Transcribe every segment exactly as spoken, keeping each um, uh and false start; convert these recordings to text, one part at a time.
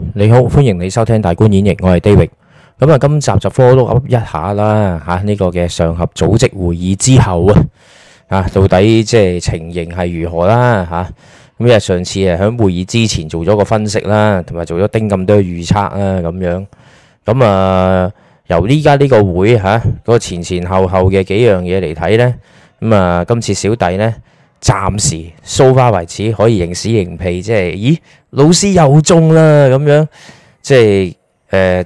你好，歡迎你收聽大觀演繹，我係 David。咁啊，今集就 follow up 一下啦，吓、這、呢個嘅上合組織會議之後啊，啊到底即係情形係如何啦，吓咁因為上次啊喺會議之前做咗個分析啦，同埋做咗丁咁多預測啦，咁樣咁啊由呢家呢個會吓嗰個前前後後嘅幾樣嘢嚟睇咧，咁啊今次小弟咧。暫時 so far 為止可以認屎認屁，即係咦老師又中啦咁樣，即係誒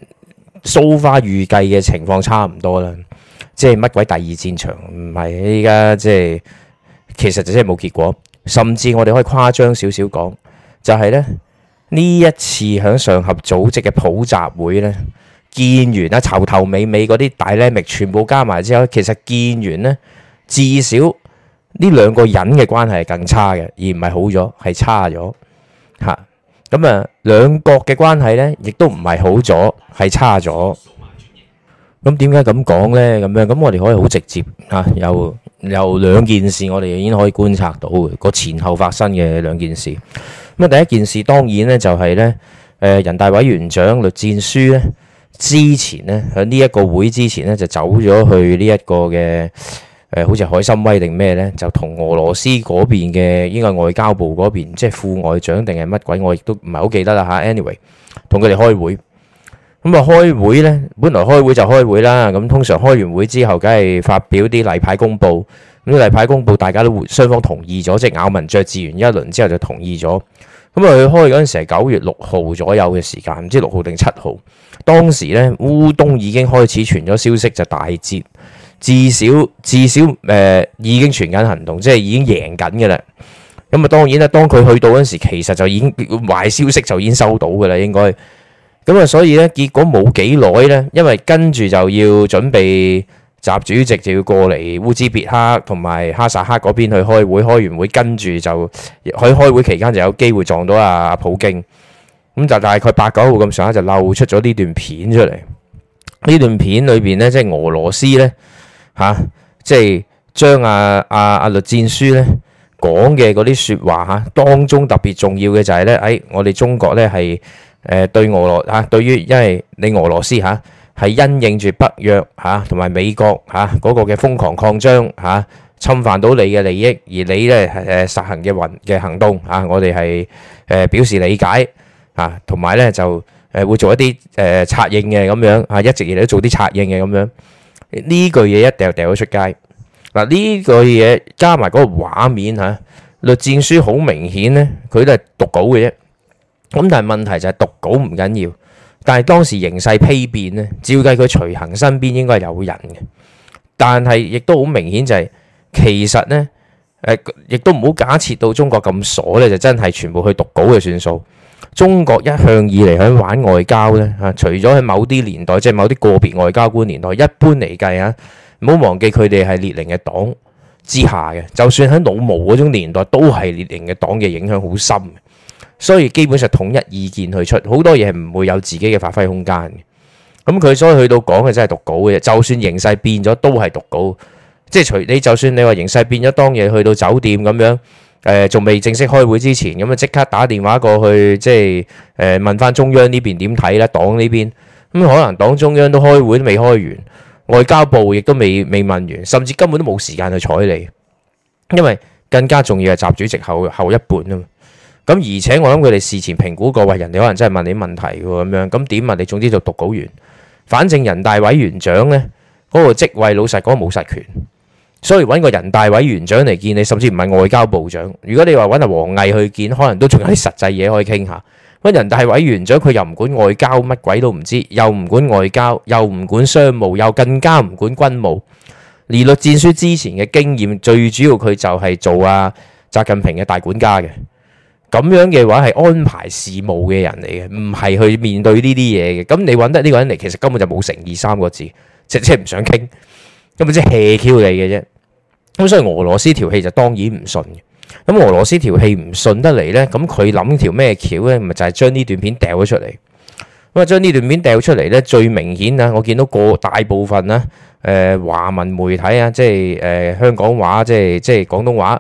so far 預計嘅情況差唔多啦，即係乜鬼第二戰場唔係依家即係其實就真係冇結果，甚至我哋可以誇張少少講，就係咧呢一次響上合組織嘅普集會咧，見完啦頭頭尾尾嗰啲大 dynamic 全部加埋之後，其實見完咧至少。呢兩個人嘅關係係更差嘅，而唔係好咗，係差咗嚇。咁啊，兩國嘅關係咧，亦都唔係好咗，係差咗。咁點解咁講咧？咁樣咁我哋可以好直接嚇，由由兩件事我哋已經可以觀察到個前後發生嘅兩件事。咁啊，第一件事當然咧就係咧，誒人大委員長栗戰書咧之前咧喺呢一個會之前咧就走咗去呢一個嘅。誒好似海參崴定咩咧，就同俄羅斯嗰邊嘅應該外交部嗰邊，即係副外長定係乜鬼，我亦都唔係好記得啦嚇。anyway，同佢哋開會，咁啊開會咧，本來開會就開會啦。咁通常開完會之後，梗係發表啲例牌公佈。咁啲例牌公佈，大家都雙方同意咗，即係咬文嚼字完一輪之後就同意咗。咁啊，佢開嗰陣時係九月六號左右嘅時間，唔知六號定七號。當時咧烏東已經開始傳咗消息，就大捷。至少至少誒、呃、已經傳緊行動，即係已經贏緊嘅啦。咁啊當然啦，當佢去到嗰陣時，其實就已經壞消息就已經收到嘅啦，應該。咁啊，所以咧結果冇幾耐咧，因為跟住就要準備習主席就要過嚟烏茲別克同埋哈薩克嗰邊去開會，開完會跟住就喺開會期間就有機會撞到阿普京。咁就大概八九號咁上下就漏出咗呢段片出嚟。呢段片裏邊咧，即係俄羅斯咧。嚇、啊，即係將阿阿阿栗戰書咧講嘅嗰啲説話嚇，當中特別重要嘅就係咧，誒我哋中國咧係誒對俄羅嚇，對於因為你俄羅斯嚇係因應住北約嚇同埋美國嚇嗰個嘅瘋狂擴張嚇，侵犯到你嘅利益，而你咧誒實行嘅運嘅行動嚇，我哋係誒表示理解嚇，同埋咧就誒會做一啲誒策應嘅咁樣嚇，一直以嚟都做啲策應嘅咁樣。呢句嘢一掉掉咗出街嗱，呢句嘢加埋嗰個畫面嚇，栗戰書好明顯咧，佢都係讀稿嘅啫。咁但係問題就係讀稿唔緊要，但係當時形勢丕變咧，照計佢隨行身邊應該係有人嘅，但係亦都好明顯就係、是、其實咧誒，亦都唔好假設到中國咁傻咧，就真係全部去讀稿嘅算數。中國一向以嚟喺玩外交咧嚇，除咗喺某啲年代，即係某啲個別外交官年代，一般嚟計啊，唔好忘記佢哋係列寧嘅黨之下嘅。就算喺老毛嗰種年代，都係列寧嘅黨嘅影響好深嘅。所以基本上統一意見去出，好多嘢係唔會有自己嘅發揮空間嘅。咁佢所以去到講嘅真係讀稿嘅啫。就算形勢變咗，都係讀稿。即係除你，就算你話形勢變咗，當夜去到酒店咁樣。誒仲未正式開會之前，咁啊即刻打電話過去，即係誒問翻中央呢邊點睇咧？黨呢邊咁可能黨中央都開會都未開完，外交部亦都未未問完，甚至根本都冇時間去睬你，因為更加重要係習主席後後一半啊嘛。咁而且我諗佢哋事前評估過，喂人哋可能真係問你問題喎咁樣，咁點問你？總之就讀稿完，反正人大委員長咧嗰個職位老實講冇實權。所以揾個人大委員長嚟見你，甚至唔係外交部長。如果你話揾阿王毅去見，可能都仲有啲實際嘢可以傾下。揾人大委員長，佢又唔管外交，乜鬼都唔知，又唔管外交，又唔管商務，又更加唔管軍務。而栗戰書之前嘅經驗，最主要佢就係做阿習近平嘅大管家嘅。咁樣嘅話係安排事務嘅人嚟嘅，唔係去面對呢啲嘢嘅。咁你揾得呢個人嚟，其實根本就冇誠意三個字，即係唔想傾，根本即係 hea Q 你嘅啫。咁所以俄羅斯條氣就當然唔順嘅。咁俄羅斯條氣唔順得嚟咧，咁佢諗條咩橋咧？咪就係將呢段片掉咗出嚟。咁啊，將呢段片掉出嚟咧，最明顯啊，我見到個大部分啦，誒華文媒體啊，即係誒香港話，即係即係廣東話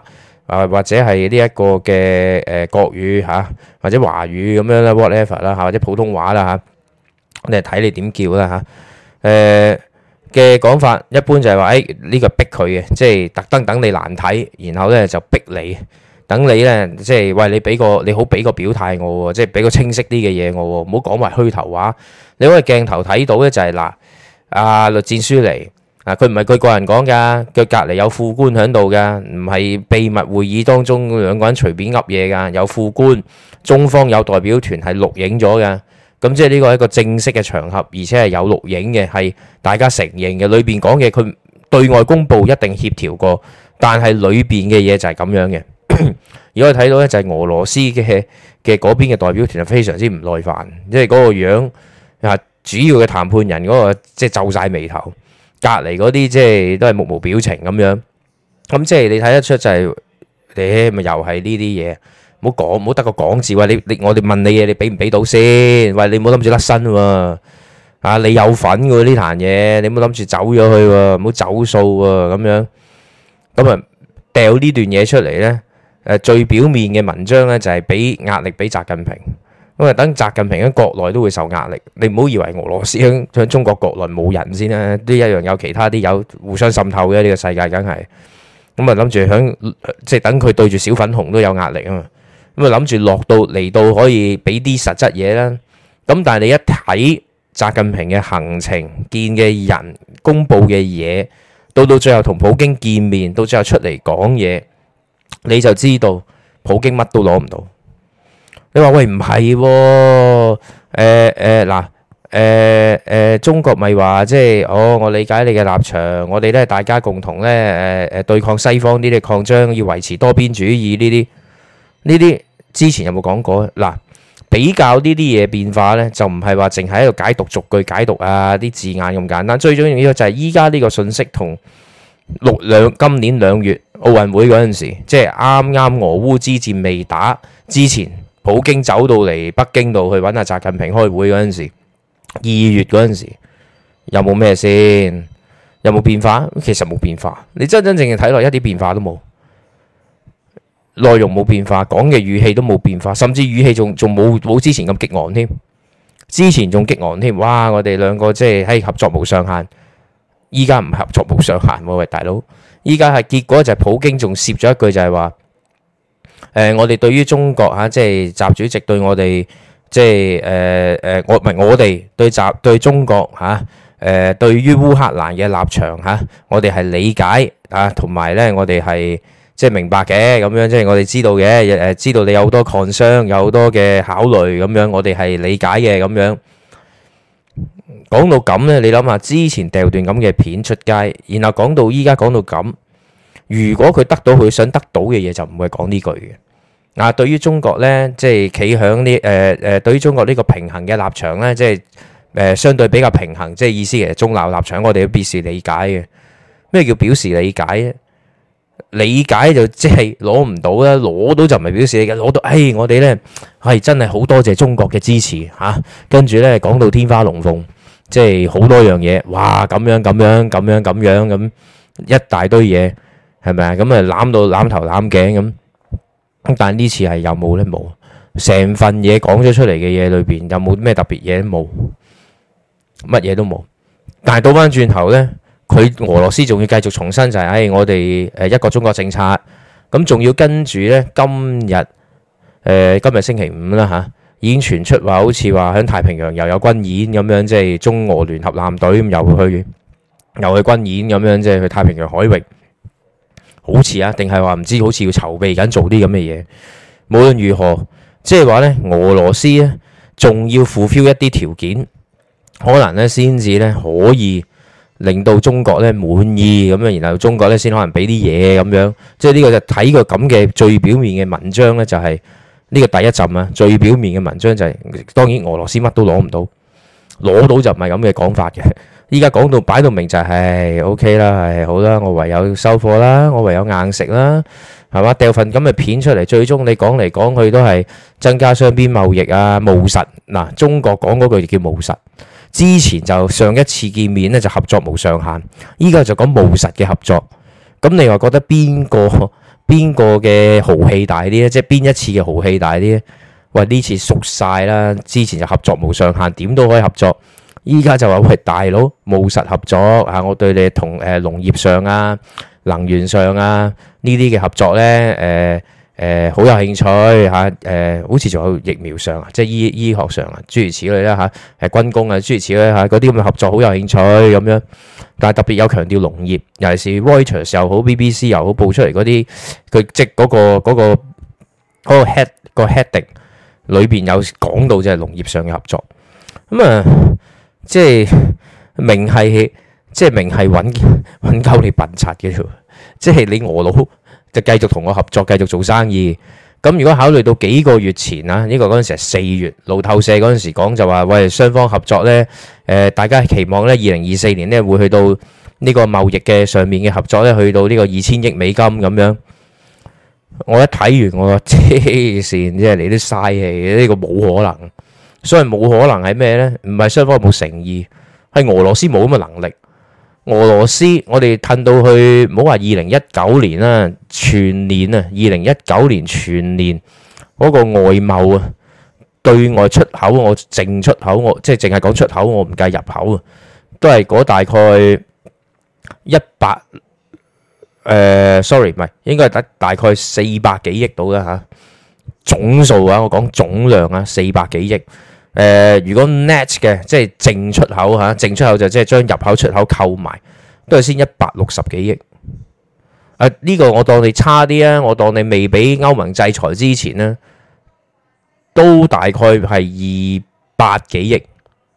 啊，或者係呢一個嘅誒國語嚇，或者華語咁樣啦，whatever 啦嚇，或者普通話啦嚇，你係睇你點叫啦嚇。誒嘅講法一般就係話誒呢個逼佢嘅，即係特登等你難睇，然後咧就逼你，等你咧即係喂你俾個你好俾個表態我喎，即係俾個清晰啲嘅嘢我喎，唔好講埋虛頭話。你可以鏡頭睇到咧就係嗱，阿栗戰書嚟。啊！佢唔係佢個人講㗎，佢隔離有副官喺度㗎，唔係秘密會議當中兩個人隨便噏嘢㗎，有副官，中方有代表團係錄影咗㗎，咁即係呢個係一個正式嘅場合，而且係有錄影嘅，係大家承認嘅。裏邊講嘅佢對外公佈一定協調過，但係裏邊嘅嘢就係咁樣嘅。如果睇到咧，就係俄羅斯嘅嘅嗰邊嘅代表團係非常之唔耐煩，即係嗰個樣啊，主要嘅談判人嗰個即係皺晒眉頭。隔離嗰啲即係都係目無表情咁樣，咁即係你睇得出就係你咪又係呢啲嘢，唔好講，唔好得個講字。喂，你你我哋問你嘢，你俾唔俾到先？喂，你唔好諗住甩身喎，啊，你有份嘅呢壇嘢，你唔好諗住走咗去喎，唔好走數喎，咁樣咁啊掉呢段嘢出嚟咧。誒最表面嘅文章咧就係俾壓力俾習近平。咁啊，等習近平喺國內都會受壓力，你唔好以為俄羅斯喺喺中國國內冇人先啦，都一樣有其他啲有互相滲透嘅，呢個世界，梗係咁啊諗住響即係等佢對住小粉紅都有壓力啊嘛，咁啊諗住落到嚟到可以俾啲實質嘢啦。咁但係你一睇習近平嘅行程、見嘅人、公佈嘅嘢，到到最後同普京見面，到最後出嚟講嘢，你就知道普京乜都攞唔到。你話喂唔係喎？誒誒嗱誒誒，中國咪話即係哦，我理解你嘅立場，我哋咧大家共同咧誒誒對抗西方呢啲擴張，要維持多邊主義呢啲呢啲，之前有冇講過？嗱，比較呢啲嘢變化咧，就唔係話淨係喺度解讀逐句解讀啊啲字眼咁簡單，最重要就係依家呢個信息同六兩今年兩月奧運會嗰陣時，即係啱啱俄烏之戰未打之前。普京走到嚟北京度去揾阿習近平開會嗰陣時，二月嗰陣時有冇咩先？有冇變化？其實冇變化。你真真正正睇落一啲變化都冇，內容冇變化，講嘅語氣都冇變化，甚至語氣仲仲冇冇之前咁激昂添。之前仲激昂添，哇！我哋兩個即係喺合作無上限，依家唔係合作無上限喎，喂大佬！依家係結果就係普京仲攝咗一句就係話。誒、呃，我哋對於中國嚇、啊，即係習主席對我哋，即係誒誒，我唔係我哋對習對中國嚇，誒、啊呃、對於烏克蘭嘅立場嚇、啊，我哋係理解啊，同埋咧我哋係即係明白嘅咁樣，即係我哋知道嘅誒、呃，知道你有好多 concern，有好多嘅考慮咁樣，我哋係理解嘅咁樣。講到咁咧，你諗下之前掉段咁嘅片出街，然後講到依家講到咁。如果佢得到佢想得到嘅嘢，就唔會講呢句嘅。啊，對於中國咧，即係企響呢誒誒，對於中國呢個平衡嘅立場咧，即係誒、呃、相對比較平衡，即係意思其實中立立場，我哋都表示理解嘅。咩叫表示理解咧？理解就即係攞唔到啦，攞到就唔係表示理解，攞到，誒、哎、我哋咧係真係好多謝中國嘅支持嚇，跟住咧講到天花龍鳳，即係好多樣嘢，哇咁樣咁樣咁樣咁樣咁一大堆嘢。係咪啊？咁啊攬到攬頭攬頸咁，但係呢次係有冇咧？冇，成份嘢講咗出嚟嘅嘢裏邊有冇咩特別嘢？冇，乜嘢都冇。但係倒翻轉頭咧，佢俄羅斯仲要繼續重申就係、是，誒、哎、我哋誒一個中國政策，咁仲要跟住咧今日誒、呃、今日星期五啦嚇，已經傳出話好似話喺太平洋又有軍演咁樣，即係中俄聯合艦隊咁又去又去軍演咁樣，即係去太平洋海域。好似啊，定係話唔知，好似要籌備緊做啲咁嘅嘢。無論如何，即係話咧，俄羅斯咧仲要 fulfill 一啲條件，可能咧先至咧可以令到中國咧滿意咁樣，然後中國咧先可能俾啲嘢咁樣。即係呢個就睇個咁嘅最表面嘅文章咧，就係呢個第一陣啊。最表面嘅文章就係當然俄羅斯乜都攞唔到，攞到就唔係咁嘅講法嘅。依家講到擺到明就係 OK 啦，係好啦，我唯有收貨啦，我唯有硬食啦，係嘛？掉份咁嘅片出嚟，最終你講嚟講去都係增加雙邊貿易啊，務實嗱。中國講嗰句叫務實，之前就上一次見面咧就合作無上限，依家就講務實嘅合作。咁你話覺得邊個邊個嘅豪氣大啲咧？即係邊一次嘅豪氣大啲咧？喂，呢次熟晒啦，之前就合作無上限，點都可以合作。依家就話喂，大佬務實合作啊！我對你同誒農業上啊、能源上啊呢啲嘅合作咧，誒誒好有興趣嚇，誒好似仲有疫苗上啊，即係醫醫學上啊，諸如此類啦嚇，誒軍工啊諸如此類嚇，嗰啲咁嘅合作好有興趣咁樣。但係特別有強調農業，尤其是 Reuters 又好 B B C 又好報出嚟嗰啲，佢即係嗰個嗰個嗰個 head 個 heading 裏邊有講到就係農業上嘅合作。咁啊〜即係明係，即係明係揾揾鳩你笨柒嘅啫。即係你俄佬就繼續同我合作，繼續做生意。咁如果考慮到幾個月前啊，呢個嗰陣時係四月，路透社嗰陣時講就話，喂，雙方合作呢，誒，大家期望呢，二零二四年呢會去到呢個貿易嘅上面嘅合作呢，去到呢個二千億美金咁樣。我一睇完，我話黐線，即係你都嘥氣，呢個冇可能。所以冇可能係咩呢？唔係雙方冇誠意，係俄羅斯冇咁嘅能力。俄羅斯我哋褪到去，唔好話二零一九年啦，全年啊，二零一九年全年嗰個外貿啊，對外出口我淨出口我即係淨係講出口，我唔計入口啊，都係嗰大概一百誒，sorry 唔係，應該係得大概四百幾億到啦嚇，總數啊，我講總量啊，四百幾億。誒、呃，如果 net 嘅，即係淨出口嚇，淨出口就即係將入口出口扣埋，都係先一百六十幾億。啊，呢、這個我當你差啲啊，我當你未俾歐盟制裁之前呢，都大概係二百幾億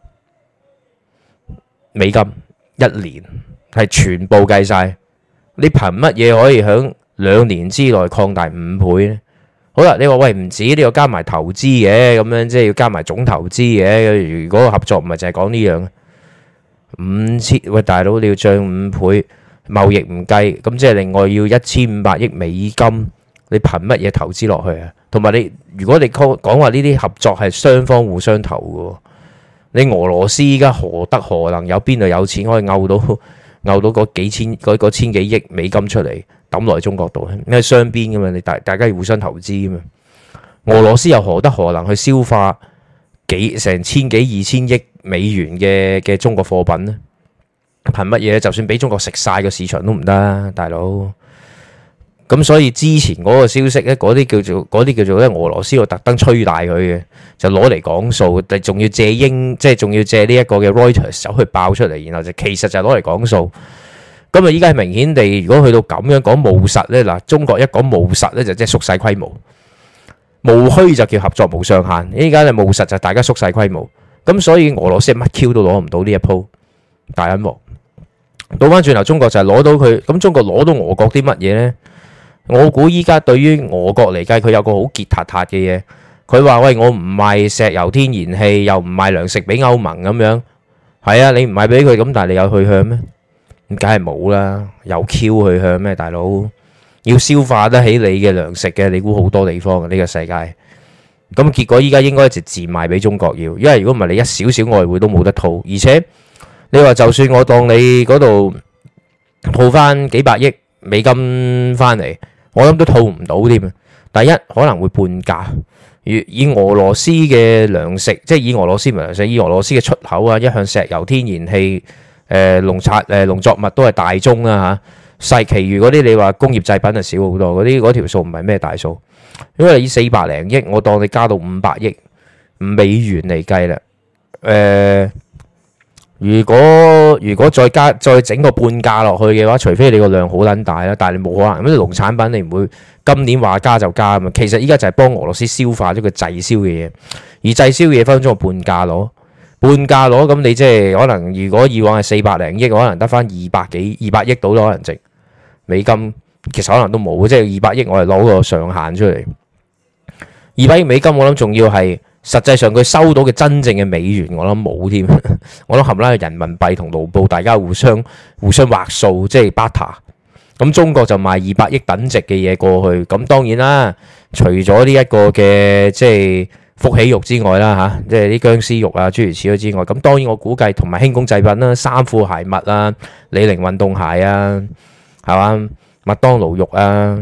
美金一年，係全部計晒。你憑乜嘢可以喺兩年之內擴大五倍呢？好啦，你話喂唔止，你要加埋投資嘅，咁樣即係要加埋總投資嘅。如果合作唔係淨係講呢樣，五千喂大佬你要漲五倍，貿易唔計，咁即係另外要一千五百億美金，你憑乜嘢投資落去啊？同埋你如果你講講話呢啲合作係雙方互相投嘅，你俄羅斯依家何德何能有邊度有錢可以摳到摳到嗰幾千嗰嗰千幾億美金出嚟？抌落去中國度，因為雙邊噶嘛，你大大家要互相投資噶嘛。俄羅斯又何德何能去消化幾成千幾二千億美元嘅嘅中國貨品呢？憑乜嘢？就算俾中國食晒個市場都唔得，大佬。咁所以之前嗰個消息咧，嗰啲叫做嗰啲叫做咧，俄羅斯要特登吹大佢嘅，就攞嚟講數，但仲要借英，即係仲要借呢一個嘅 Reuters 走去爆出嚟，然後就其實就攞嚟講數。咁啊！依家係明顯地，如果去到咁樣講務實咧，嗱，中國一講務實咧，就即係縮細規模；務虛就叫合作無上限。依家咧務實就大家縮細規模。咁所以俄羅斯乜 Q 都攞唔到呢一鋪大陰謀。倒翻轉頭，中國就係攞到佢。咁中國攞到俄國啲乜嘢咧？我估依家對於俄國嚟計，佢有個好結塔塔嘅嘢。佢話：喂，我唔賣石油天然氣，又唔賣糧食俾歐盟咁樣。係啊，你唔賣俾佢咁，但係你有去向咩？咁梗係冇啦，有 Q 去向咩？大佬要消化得起你嘅糧食嘅，你估好多地方嘅呢個世界。咁結果依家應該一直自賣俾中國要，因為如果唔係你一少少外匯都冇得套，而且你話就算我當你嗰度套翻幾百億美金翻嚟，我諗都套唔到添。第一可能會半價，以俄羅斯嘅糧食，即係以俄羅斯唔係糧食，以俄羅斯嘅出口啊，一向石油、天然氣。誒農產誒農作物都係大宗啦嚇，細其餘嗰啲你話工業製品就少好多，嗰啲嗰條數唔係咩大數，因為以四百零億，我當你加到五百億美元嚟計啦。誒、呃，如果如果再加再整個半價落去嘅話，除非你個量好撚大啦，但係你冇可能，咁啲農產品你唔會今年話加就加啊嘛。其實依家就係幫俄羅斯消化咗佢滯銷嘅嘢，而滯銷嘅嘢分分鐘半價攞。半價攞，咁你即係可能，如果以往係四百零億，可能得翻二百幾二百億到咯，可能值美金，其實可能都冇，即係二百億我係攞個上限出嚟。二百億美金我諗仲要係實際上佢收到嘅真正嘅美元，我諗冇添。我諗冚唪唥人民幣同盧布大家互相互相劃數，即係 barter。咁中國就賣二百億等值嘅嘢過去，咁當然啦，除咗呢一個嘅即係福喜肉之外啦嚇，即係啲僵屍肉啊諸如此類之外，咁當然我估計同埋輕工製品啦、衫褲鞋襪啊、李寧運動鞋啊，係嘛，麥當勞肉啊，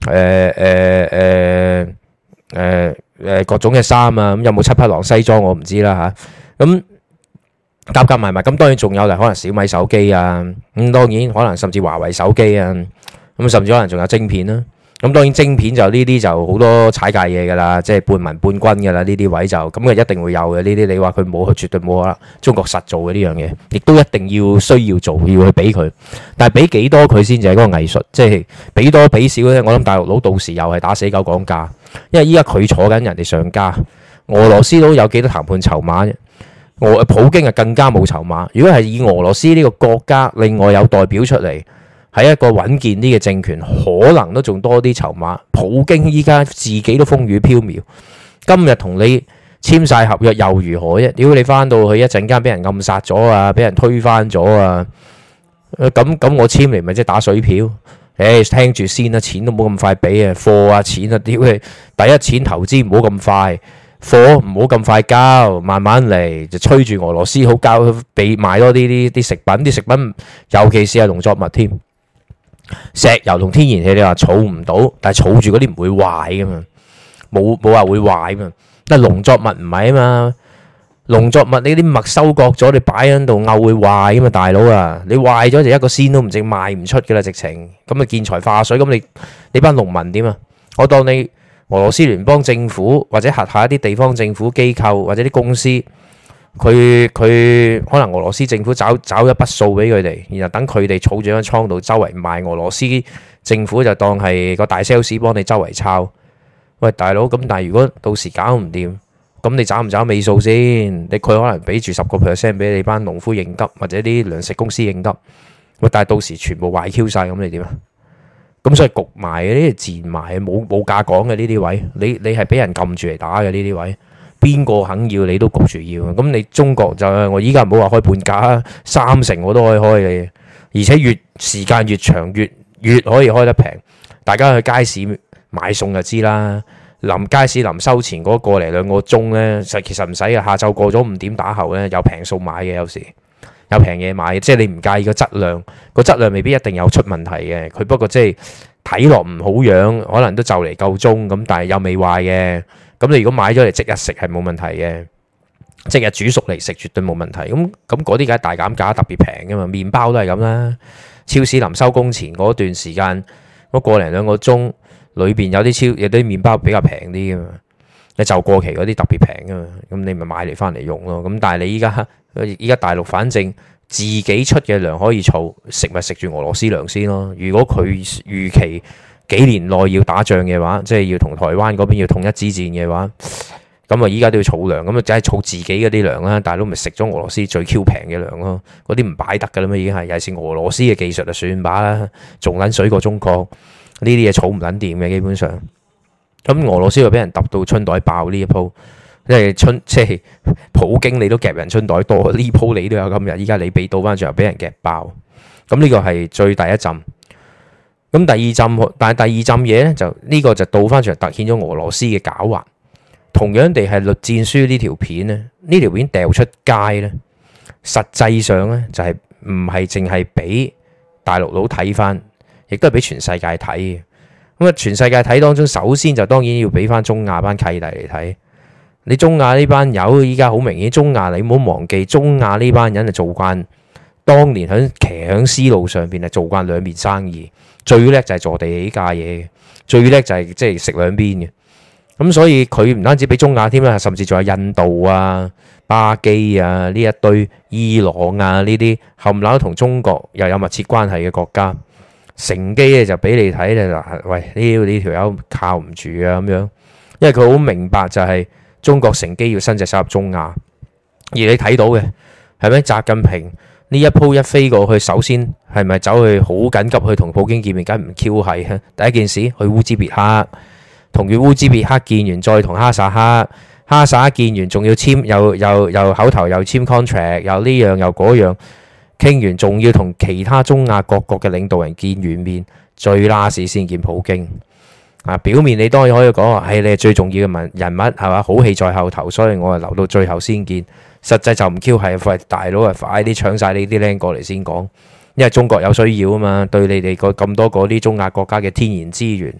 誒誒誒誒誒各種嘅衫啊，咁有冇七匹狼西裝我唔知啦嚇。咁夾夾埋埋，咁當然仲有嚟可能小米手機啊，咁當然可能甚至華為手機啊，咁甚至可能仲有晶片啦。咁當然晶片就呢啲就好多踩界嘢㗎啦，即係半民半軍㗎啦，呢啲位就咁嘅一定會有嘅。呢啲你話佢冇，佢絕對冇可能。中國實做嘅呢樣嘢，亦都一定要需要做，要去俾佢。但係俾幾多佢先至係嗰個藝術，即係俾多俾少咧。我諗大陸佬到時又係打死狗講價，因為依家佢坐緊人哋上家，俄羅斯佬有幾多談判籌碼啫？俄普京啊更加冇籌碼。如果係以俄羅斯呢個國家另外有代表出嚟，係一個穩健啲嘅政權，可能都仲多啲籌碼。普京依家自己都風雨飄渺，今日同你簽晒合約又如何啫？屌你翻到去一陣間俾人暗殺咗啊，俾人推翻咗啊！咁咁我簽嚟咪即係打水漂？誒，聽住先啦，錢都冇咁快俾啊，貨啊錢啊，屌你！第一錢投資唔好咁快，貨唔好咁快交，慢慢嚟就催住俄羅斯好交，俾買多啲啲啲食品，啲食品尤其是係農作物添。石油同天然氣你話儲唔到，但係儲住嗰啲唔會壞噶嘛，冇冇話會壞嘛。但係農作物唔係啊嘛，農作物你啲麥收割咗，你擺喺度漚會壞噶嘛，大佬啊，你壞咗就一個仙都唔值，賣唔出噶啦，直情咁啊見財化水。咁你你班農民點啊？我當你俄羅斯聯邦政府或者轄下一啲地方政府機構或者啲公司。佢佢可能俄羅斯政府找找一筆數俾佢哋，然後等佢哋儲住喺倉度周圍賣，俄羅斯政府就當係個大 sales 幫你周圍抄。喂，大佬，咁但係如果到時搞唔掂，咁你找唔找尾數先？你佢可能俾住十個 percent 俾你班農夫應急，或者啲糧食公司應急。喂，但係到時全部壞 Q 晒，咁你點啊？咁所以焗埋呢啲自然埋，冇冇價講嘅呢啲位，你你係俾人撳住嚟打嘅呢啲位。邊個肯要你都焗住要，咁你中國就我依家唔好話開半價，三成我都可以開你，而且越時間越長越越可以開得平。大家去街市買餸就知啦，臨街市臨收錢嗰個嚟兩個鐘呢，實其實唔使嘅。下晝過咗五點打後呢，有平數買嘅，有時有平嘢買嘅，即係你唔介意個質量，個質量未必一定有出問題嘅。佢不過即係睇落唔好樣，可能都就嚟夠鐘咁，但係又未壞嘅。咁你如果買咗嚟即日食係冇問題嘅，即日煮熟嚟食絕對冇問題。咁咁嗰啲梗係大減價特別平㗎嘛，麵包都係咁啦。超市臨收工前嗰段時間嗰個零兩個鐘，裏邊有啲超有啲麵包比較平啲㗎嘛，你就過期嗰啲特別平㗎嘛。咁你咪買嚟翻嚟用咯。咁但係你依家依家大陸反正自己出嘅糧可以儲，食咪食住俄羅斯糧先咯。如果佢預期幾年內要打仗嘅話，即係要同台灣嗰邊要統一之戰嘅話，咁啊依家都要儲糧，咁啊梗係儲自己嗰啲糧啦。大佬咪食咗俄羅斯最 Q 平嘅糧咯，嗰啲唔擺得噶啦嘛，已經係尤其是俄羅斯嘅技術就算把啦，仲撚水過中國呢啲嘢儲唔撚掂嘅基本上。咁俄羅斯就俾人揼到春袋爆呢一鋪，即係春即係普京你都夾人春袋多，呢鋪你都有今日，依家你俾倒翻轉又俾人夾爆，咁呢個係最第一陣。咁第二陣，但係第二陣嘢咧，就呢個就倒翻出嚟，突顯咗俄羅斯嘅狡猾。同樣地係《栗戰書》呢條片咧，呢條片掉出街咧，實際上咧就係唔係淨係俾大陸佬睇翻，亦都係俾全世界睇嘅。咁啊，全世界睇當中，首先就當然要俾翻中亞班契弟嚟睇。你中亞呢班友依家好明顯，中亞你唔好忘記，中亞呢班人係做慣，當年喺騎響絲路上邊係做慣兩邊生意。最叻就係坐地起價嘢嘅，最叻就係即係食兩邊嘅。咁所以佢唔單止俾中亞添啦，甚至仲有印度啊、巴基啊呢一堆、伊朗啊呢啲冚唪唥同中國又有密切關係嘅國家，乘機咧就俾你睇咧嗱，喂呢呢條友靠唔住啊咁樣，因為佢好明白就係中國乘機要伸隻手入中亞，而你睇到嘅係咪習近平？呢一鋪一飛過去，首先係咪走去好緊急去同普京見面？梗係唔 Q 係。第一件事去烏茲別克，同佢烏茲別克見完，再同哈薩克，哈薩克見完，仲要簽又又又口頭又簽 contract，又呢樣又嗰樣，傾完仲要同其他中亞各國嘅領導人見完面，最 last 先見普京。啊，表面你當然可以講話，係你係最重要嘅人人物係嘛？好戲在後頭，所以我係留到最後先見。實際就唔 Q 係，喂大佬啊，快啲搶晒你啲靚過嚟先講，因為中國有需要啊嘛，對你哋個咁多嗰啲中亞國家嘅天然資源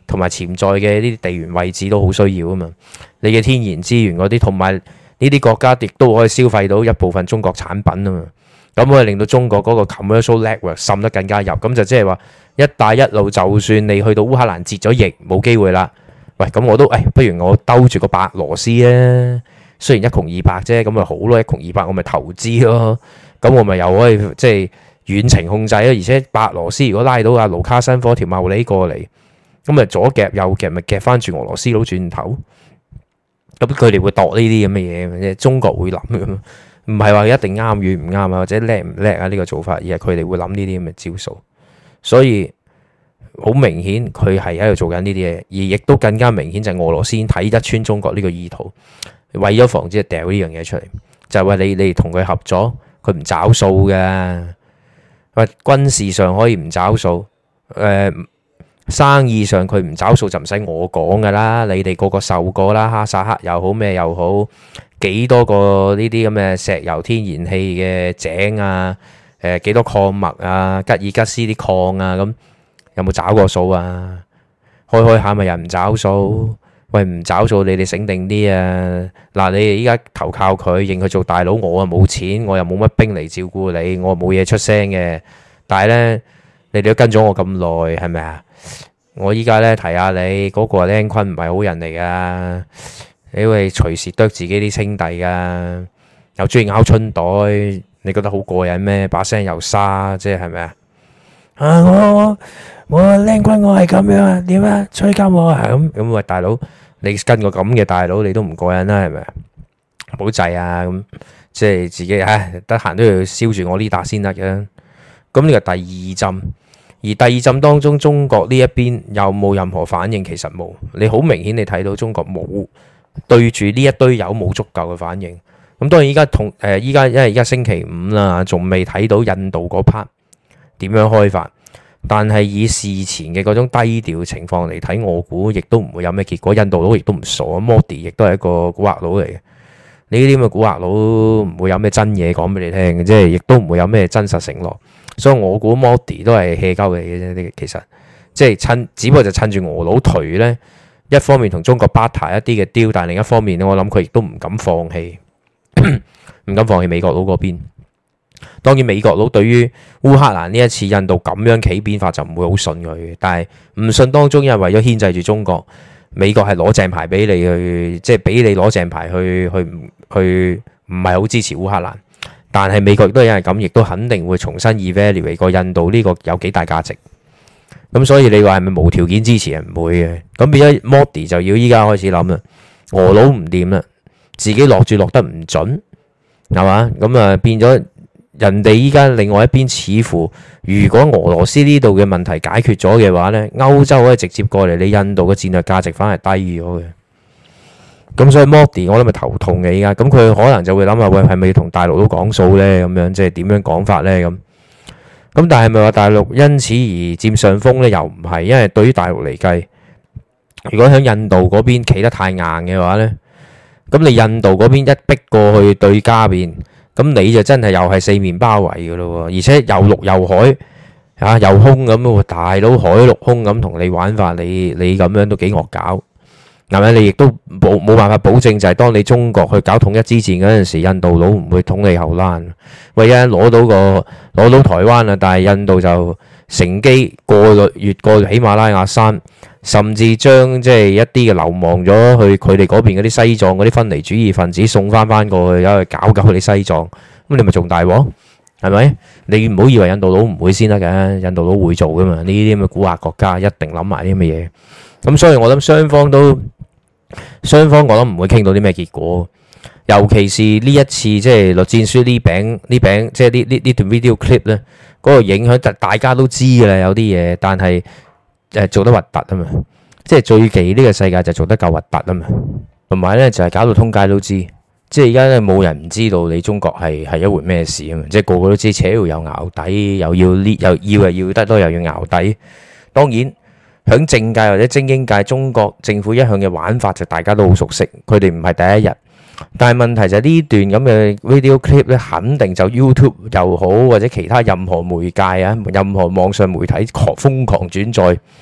同埋潛在嘅呢啲地緣位置都好需要啊嘛。你嘅天然資源嗰啲，同埋呢啲國家亦都可以消費到一部分中國產品啊嘛。咁可以令到中國嗰個 commercial network 滲得更加入。咁就即係話一帶一路，就算你去到烏克蘭截咗疫冇機會啦。喂，咁我都誒，不如我兜住個白羅斯啊。雖然一窮二白啫，咁咪好咯，一窮二白我咪投資咯。咁我咪又可以即係遠程控制咯。而且白羅斯如果拉到阿盧卡申科條茂利過嚟，咁咪左夾右夾，咪夾翻住俄羅斯佬轉頭。咁佢哋會度呢啲咁嘅嘢，即係中國會諗咁，唔係話一定啱與唔啱啊，或者叻唔叻啊呢個做法，而係佢哋會諗呢啲咁嘅招數。所以好明顯佢係喺度做緊呢啲嘢，而亦都更加明顯就係俄羅斯睇得穿中國呢個意圖。為咗防止掉呢樣嘢出嚟，就係話你你同佢合作，佢唔找數嘅。喂，軍事上可以唔找數，誒、呃，生意上佢唔找數就唔使我講噶啦，你哋個個受過啦，哈薩克又好咩又好，幾多個呢啲咁嘅石油天然氣嘅井啊，誒、呃，幾多礦脈啊，吉爾吉斯啲礦啊，咁有冇找過數啊？開開下咪又唔找數。喂，唔找數，你哋醒定啲啊！嗱，你哋依家投靠佢，認佢做大佬，我啊冇錢，我又冇乜兵嚟照顧你，我冇嘢出聲嘅。但係咧，你哋都跟咗我咁耐，係咪啊？我依家咧提下你，嗰、那個僆坤唔係好人嚟噶，你會隨時剁自己啲兄弟噶，又中意咬春袋，你覺得好過癮咩？把聲又沙，即係係咪啊？啊，我我我僆坤，我係咁樣啊？點啊？吹鳩我啊？咁咁喂，大佬。你跟個咁嘅大佬，你都唔過癮啦，係咪啊？唔好制啊！咁即係自己唉，得閒都要燒住我呢笪先得嘅。咁呢個第二針，而第二針當中，中國呢一邊有冇任何反應？其實冇。你好明顯，你睇到中國冇對住呢一堆友冇足夠嘅反應。咁當然依家同誒依家，因為依家星期五啦，仲未睇到印度嗰 part 點樣開發。但係以事前嘅嗰種低調情況嚟睇，我估亦都唔會有咩結果。印度佬亦都唔傻，Modi 亦都係一個蠱惑佬嚟嘅。呢啲咁嘅蠱惑佬唔會有咩真嘢講俾你聽，即係亦都唔會有咩真實承諾。所以我估 Modi 都係 hea 鳩嚟嘅啫。其實即係趁，只不過就趁住俄佬頹呢，一方面同中國 barter 一啲嘅 deal，但係另一方面咧，我諗佢亦都唔敢放棄，唔敢放棄美國佬嗰邊。當然美國佬對於烏克蘭呢一次印度咁樣企變法就唔會好信佢，但係唔信當中因為為咗牽制住中國，美國係攞正牌俾你去，即係俾你攞正牌去去去唔係好支持烏克蘭，但係美國亦都係因為咁，亦都肯定會重新 evaluate 個印度呢個有幾大價值。咁所以你話係咪無條件支持？係唔會嘅。咁變咗 Modi 就要依家開始諗啦，俄佬唔掂啦，自己落住落得唔準，係嘛？咁啊變咗。人哋依家另外一邊似乎，如果俄羅斯呢度嘅問題解決咗嘅話呢，歐洲可以直接過嚟，你印度嘅戰略價值反而低咗嘅。咁所以 Modi 我諗咪頭痛嘅依家，咁佢可能就會諗下，喂，係咪要同大陸都講數呢？咁樣即係點樣講法呢？咁咁但係咪話大陸因此而佔上風呢？又唔係，因為對於大陸嚟計，如果喺印度嗰邊企得太硬嘅話呢，咁你印度嗰邊一逼過去對家邊。咁你就真係又係四面包圍嘅咯，而且又陸又海啊，又空咁喎，大佬海陸空咁同你玩法，你你咁樣都幾惡搞，係咪？你亦都冇冇辦法保證，就係當你中國去搞統一之戰嗰陣時，印度佬唔會捅你後欄。唯一攞到個攞到台灣啦，但係印度就乘機過越過喜馬拉雅山，甚至將即係一啲嘅流亡咗去佢哋嗰邊嗰啲西藏嗰啲分離主義分子送翻翻過去，走去搞搞佢哋西藏，咁你咪仲大鑊，係咪？你唔好以為印度佬唔會先得嘅，印度佬會做噶嘛？呢啲咁嘅古惑國家一定諗埋啲咁嘅嘢，咁所以我諗雙方都雙方我諗唔會傾到啲咩結果，尤其是呢一次即係栗戰書呢餅呢餅，即係呢呢呢段 video clip 咧，嗰個影響大家都知㗎啦，有啲嘢，但係。誒，做得核突啊嘛，即係最忌呢個世界就做得夠核突啊嘛，同埋咧就係搞到通街都知，即係而家咧冇人唔知道你中國係係一回咩事啊嘛，即係個個都知，扯又淆底，又要呢又要又要得多，又要淆底。當然響政界或者精英界，中國政府一向嘅玩法就大家都好熟悉，佢哋唔係第一日。但係問題就係呢段咁嘅 video clip 咧，肯定就 YouTube 又好或者其他任何媒介啊，任何網上媒體狂瘋狂轉載，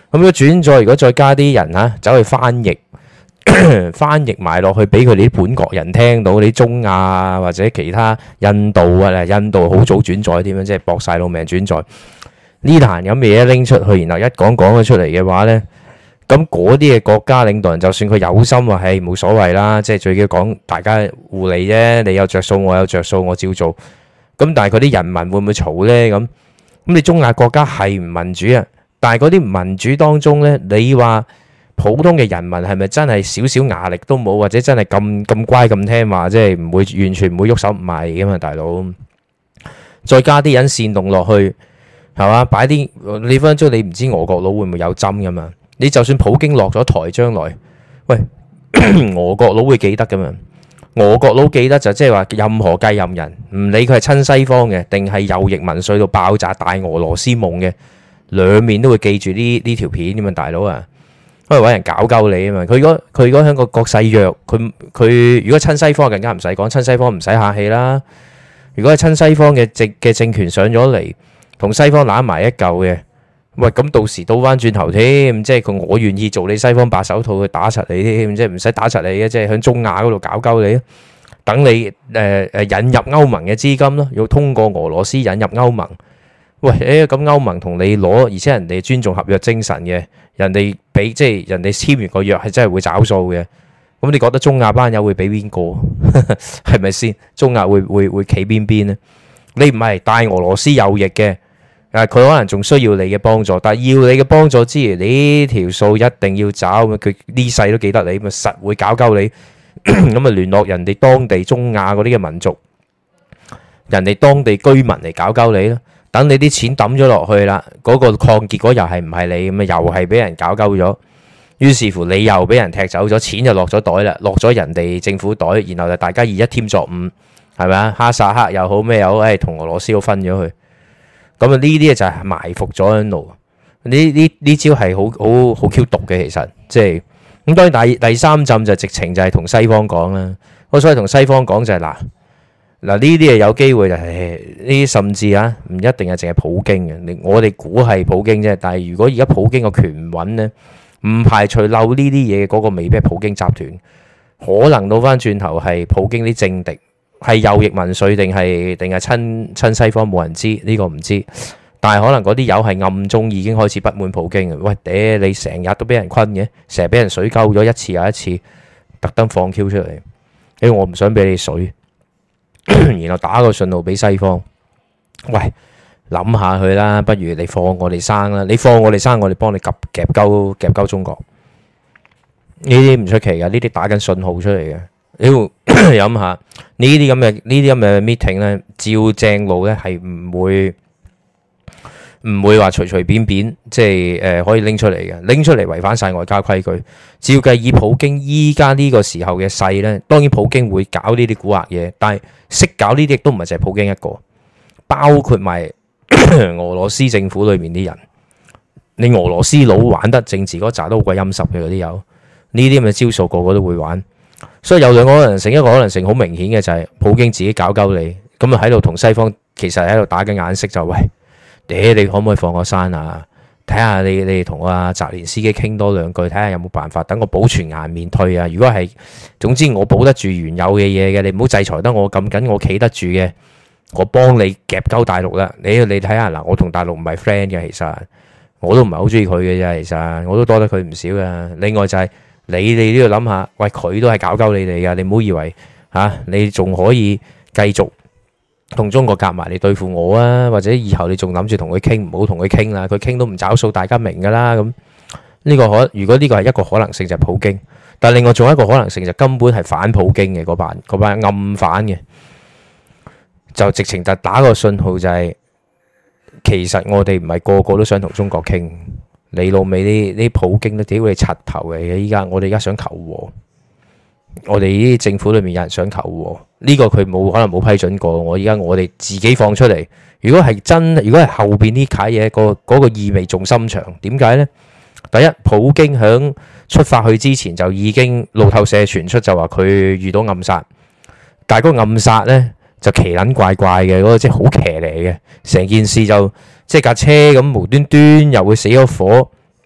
咁如果轉載，如果再加啲人嚇走去翻譯，翻譯埋落去俾佢哋啲本國人聽到，啲中亞啊或者其他印度啊，印度好早轉載添樣，即係搏晒老命轉載呢壇咁嘅嘢拎出去，然後一講講咗出嚟嘅話咧，咁嗰啲嘅國家領導人就算佢有心話，係冇所謂啦，即係最緊要講大家互利啫，你有着數，我有着數，我照做。咁但係嗰啲人民會唔會嘈咧？咁咁你中亞國家係唔民主啊？但係嗰啲民主當中咧，你話普通嘅人民係咪真係少少壓力都冇，或者真係咁咁乖咁聽話，即係唔會完全唔會喐手唔係噶嘛，大佬。再加啲人煽動落去，係嘛？擺啲你分分鐘你唔知俄國佬會唔會有針噶嘛？你就算普京落咗台，將來喂俄國佬會記得噶嘛？俄國佬記得就即係話任何繼任人，唔理佢係親西方嘅，定係右翼民粹到爆炸大俄羅斯夢嘅，兩面都會記住呢呢條片咁啊，大佬啊！因為揾人搞鳩你啊嘛。佢如果佢如果喺個國勢弱，佢佢如果親西方更加唔使講，親西方唔使客氣啦。如果係親西方嘅政嘅政權上咗嚟，同西方攬埋一嚿嘅，喂咁到時倒翻轉頭添，即係佢我願意做你西方白手套去打實你添，即係唔使打實你嘅，即係喺中亞嗰度搞鳩你，等你誒誒、呃、引入歐盟嘅資金咯，要通過俄羅斯引入歐盟。喂誒咁歐盟同你攞，而且人哋尊重合約精神嘅，人哋俾即係人哋簽完個約係真係會找數嘅。咁你覺得中亞班友會俾邊個？係咪先？中亞會會會企邊邊咧？你唔係大俄羅斯右翼嘅，誒佢可能仲需要你嘅幫助，但係要你嘅幫助之餘，呢條數一定要找，佢呢世都記得你，咪實會搞鳩你。咁啊聯絡人哋當地中亞嗰啲嘅民族，人哋當地居民嚟搞鳩你咯。等你啲錢抌咗落去啦，嗰個礦結果又係唔係你咁啊？又係俾人搞鳩咗。於是乎你又俾人踢走咗，錢就落咗袋啦，落咗人哋政府袋，然後就大家以一添作五，係咪啊？哈薩克又好咩又好，誒同俄羅斯都分咗去。咁啊呢啲就係埋伏咗喺度。呢呢呢招係好好好 Q 毒嘅，其實即係咁。當然第第三陣就直情就係同西方講啦。我所以同西方講就係嗱嗱呢啲嘢有機會就係呢啲，甚至啊唔一定係淨係普京嘅。我哋估係普京啫，但係如果而家普京個權穩咧，唔排除漏呢啲嘢嗰個未必係普京集團，可能倒翻轉頭係普京啲政敵，係右翼民粹定係定係親親西方，冇人知呢個唔知。但係可能嗰啲友係暗中已經開始不滿普京嘅。喂，嗲你成日都俾人困嘅，成日俾人水溝咗一次又一次，特登放 Q 出嚟，因為我唔想俾你水，然後打個信號俾西方。喂，諗下佢啦，不如你放我哋生啦，你放我哋生，我哋幫你夾夾鳩夾鳩中國。呢啲唔出奇噶，呢啲打緊信號出嚟嘅。你要諗下呢啲咁嘅呢啲咁嘅 meeting 咧，照正路咧係唔會唔會話隨隨便便即係誒、呃、可以拎出嚟嘅，拎出嚟違反晒外交規矩。照計以普京依家呢個時候嘅勢咧，當然普京會搞呢啲蠱惑嘢，但係識搞呢啲亦都唔係淨係普京一個，包括埋俄羅斯政府裏面啲人。你俄羅斯佬玩得政治嗰扎都好鬼陰濕嘅嗰啲友，呢啲咁嘅招數個個都會玩。所以有兩個可能性，一個可能性好明顯嘅就係普京自己搞鳩你，咁啊喺度同西方其實喺度打緊眼色，就喂，嗲你可唔可以放我生啊？睇下你你同阿澤連斯基傾多兩句，睇下有冇辦法等我保存顏面退啊！如果係，總之我保得住原有嘅嘢嘅，你唔好制裁得我咁緊，我企得住嘅，我幫你夾鳩大陸啦。你你睇下嗱，我同大陸唔係 friend 嘅，其實我都唔係好中意佢嘅啫，其實我都多得佢唔少嘅。另外就係、是。你哋都要諗下，喂，佢都係搞鳩你哋噶，你唔好以為嚇、啊、你仲可以繼續同中國夾埋嚟對付我啊，或者以後你仲諗住同佢傾，唔好同佢傾啦，佢傾都唔找數，大家明噶啦。咁呢個可，如果呢個係一個可能性就係普京，但係另外仲有一個可能性就根本係反普京嘅嗰班嗰班暗反嘅，就直情就打個信號就係、是、其實我哋唔係個個都想同中國傾。你老味啲啲普京都屌你柒頭嚟嘅，依家我哋而家想求和，我哋呢啲政府裏面有人想求和，呢、這個佢冇可能冇批准過，我而家我哋自己放出嚟。如果係真，如果係後邊呢啲嘢，個嗰個意味仲深長。點解呢？第一，普京響出發去之前就已經路透社傳出就話佢遇到暗殺，但係嗰個暗殺呢，就奇撚怪怪嘅，嗰、那個即係好騎呢嘅，成件事就。即係架車咁無端端又會死咗火，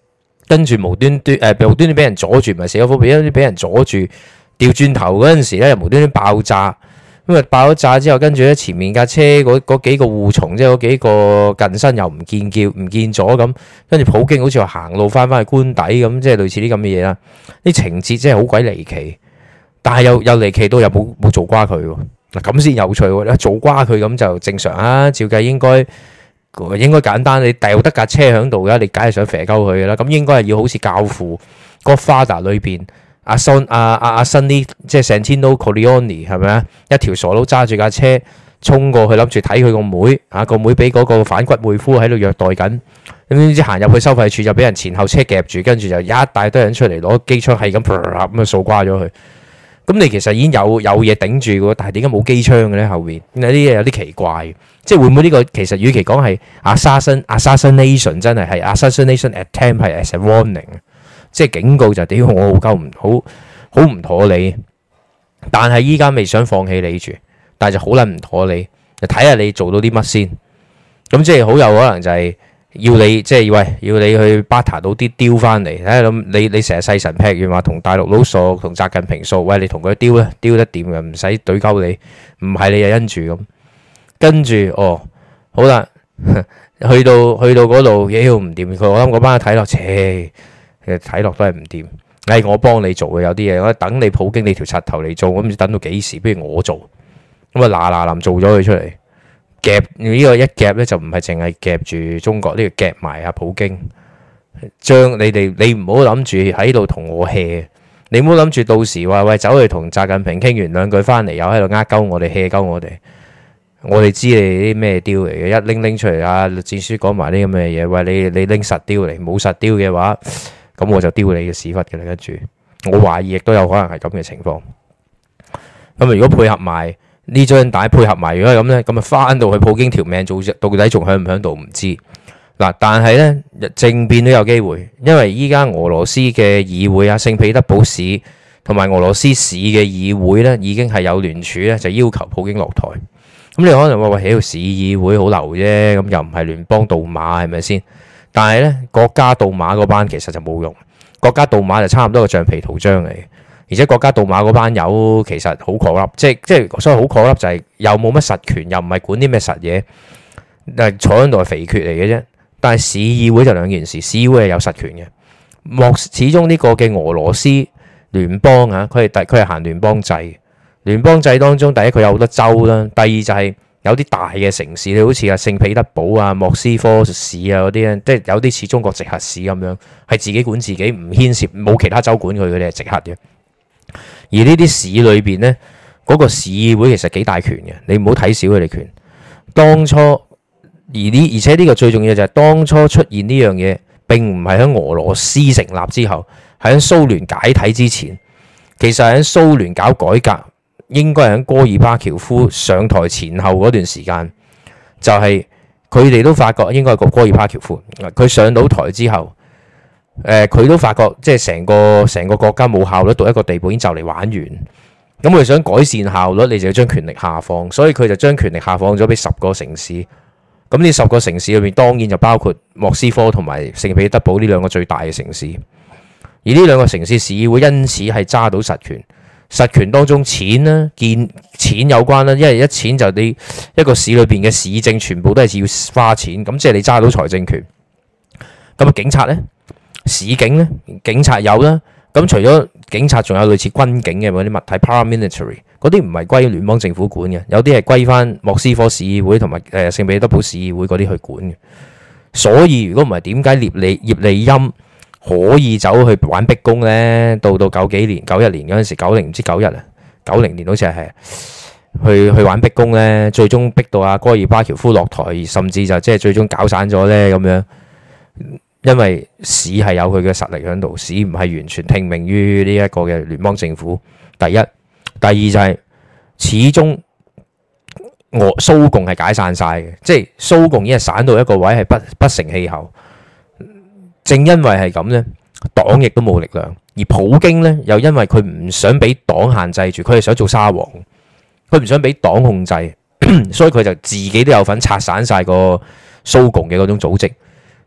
跟住無端端誒、呃、無端端俾人阻住，唔係死火，俾一俾人阻住，調轉頭嗰陣時咧又無端端爆炸。咁啊爆咗炸之後，跟住咧前面架車嗰嗰幾個護從，即係嗰幾個近身又唔見叫唔見咗咁，跟住普京好似話行路翻返去官邸咁，即係類似啲咁嘅嘢啦。啲情節真係好鬼離奇，但係又又離奇到又冇冇做瓜佢喎。嗱咁先有趣喎，做瓜佢咁就正常啊。照計應該應該簡單，你掉得架車喺度嘅，你梗係想肥鳩佢嘅啦。咁應該係要好似教父《Godfather》裏邊。阿 Son 阿阿阿 Sonny 即係 Santino Corleone 係咪啊？一條傻佬揸住架車衝過去，諗住睇佢個妹啊！個妹俾嗰個反骨妹夫喺度虐待緊，咁點知行入去收費處就俾人前後車夾住，跟住就一大堆人出嚟攞機槍係咁咁啊掃瓜咗佢。咁你其實已經有有嘢頂住嘅，但係點解冇機槍嘅咧？後邊有啲嘢有啲奇怪，即係會唔會呢個其實與其講係 assassin assassination 真係係 assassination attempt 係 as a warning。即係警告就屌我好鳩唔好好唔妥你，但係依家未想放棄你住，但係就好撚唔妥你，就睇下你做到啲乜先。咁即係好有可能就係要你即係喂要你去 barter 到啲雕翻嚟，睇下咁你你成日細神劈完話同大陸佬熟，同習近平熟，喂你同佢雕咧雕得掂嘅，唔使懟鳩你，唔係你就因住咁，跟住哦好啦，去到去到嗰度妖唔掂，佢我諗嗰班睇落切。其實睇落都係唔掂，係我幫你做嘅有啲嘢，我等你普京你條柒頭嚟做，我唔知等到幾時，不如我做，咁啊嗱嗱臨做咗佢出嚟，夾呢個一夾咧就唔係淨係夾住中國，呢個夾埋阿普京，將你哋你唔好諗住喺度同我 hea，你唔好諗住到時話喂走去同習近平傾完兩句翻嚟又喺度呃鳩我哋 hea 鳩我哋，我哋知你啲咩雕嚟嘅，一拎拎出嚟啊，栗戰書講埋啲咁嘅嘢，喂你你拎實雕嚟，冇實雕嘅話。咁我就丟你嘅屎忽嘅啦，跟住我懷疑亦都有可能係咁嘅情況。咁如果配合埋呢張帶，配合埋如果係咁咧，咁啊翻到去普京條命做到底仲響唔響度唔知嗱。但係咧政變都有機會，因為依家俄羅斯嘅議會啊，聖彼得堡市同埋俄羅斯市嘅議會咧，已經係有聯署咧，就要求普京落台。咁你可能話喂，喺度市議會好流啫，咁又唔係聯邦杜馬係咪先？但係咧，國家杜馬嗰班其實就冇用，國家杜馬就差唔多個橡皮圖章嚟嘅，而且國家杜馬嗰班友其實好 corrupt，即係即係所謂好 corrupt就係又冇乜實權，又唔係管啲咩實嘢，誒坐喺度係肥缺嚟嘅啫。但係市議會就兩件事，市議會係有實權嘅，莫始終呢個嘅俄羅斯聯邦啊，佢係佢係行聯邦制，聯邦制當中第一佢有好多州啦，第二就係、是。有啲大嘅城市，你好似啊聖彼得堡啊、莫斯科市啊嗰啲咧，即係有啲似中國直轄市咁樣，係自己管自己，唔牽涉冇其他州管佢，佢哋係直轄嘅。而呢啲市裏邊咧，嗰、那個市議會其實幾大權嘅，你唔好睇小佢哋權。當初而呢，而且呢個最重要就係當初出現呢樣嘢，並唔係喺俄羅斯成立之後，係喺蘇聯解體之前，其實係喺蘇聯搞改革。應該係喺戈爾巴喬夫上台前後嗰段時間，就係佢哋都發覺應該係個戈爾巴喬夫，佢上到台之後，誒、呃、佢都發覺即係成個成個國家冇效率到一個地步，已經就嚟玩完。咁佢想改善效率，你就要將權力下放，所以佢就將權力下放咗俾十個城市。咁呢十個城市裏面，當然就包括莫斯科同埋聖彼得堡呢兩個最大嘅城市。而呢兩個城市市議會因此係揸到實權。實權當中錢啦，見錢有關啦，因為一錢就你一個市裏邊嘅市政全部都係要花錢，咁即係你揸到財政權。咁啊，警察呢？市警呢？警察有啦。咁除咗警察，仲有類似軍警嘅嗰啲物體 paramilitary，嗰啲唔係歸聯邦政府管嘅，有啲係歸翻莫斯科市議會同埋誒聖彼得堡市議會嗰啲去管嘅。所以如果唔係，點解葉利葉利欽可以走去玩逼宮咧？到到九幾年、九一年嗰陣時，九零唔知九一啊，九零年好似係去去玩逼宮咧，最終逼到阿戈爾巴喬夫落台，甚至就即係最終搞散咗咧咁樣。因為市係有佢嘅實力喺度，市唔係完全聽命於呢一個嘅聯邦政府。第一，第二就係、是、始終俄蘇共係解散晒嘅，即係蘇共已經係散到一個位係不不成氣候。正因為係咁呢，黨亦都冇力量，而普京呢，又因為佢唔想俾黨限制住，佢係想做沙皇，佢唔想俾黨控制，所以佢就自己都有份拆散晒個蘇共嘅嗰種組織。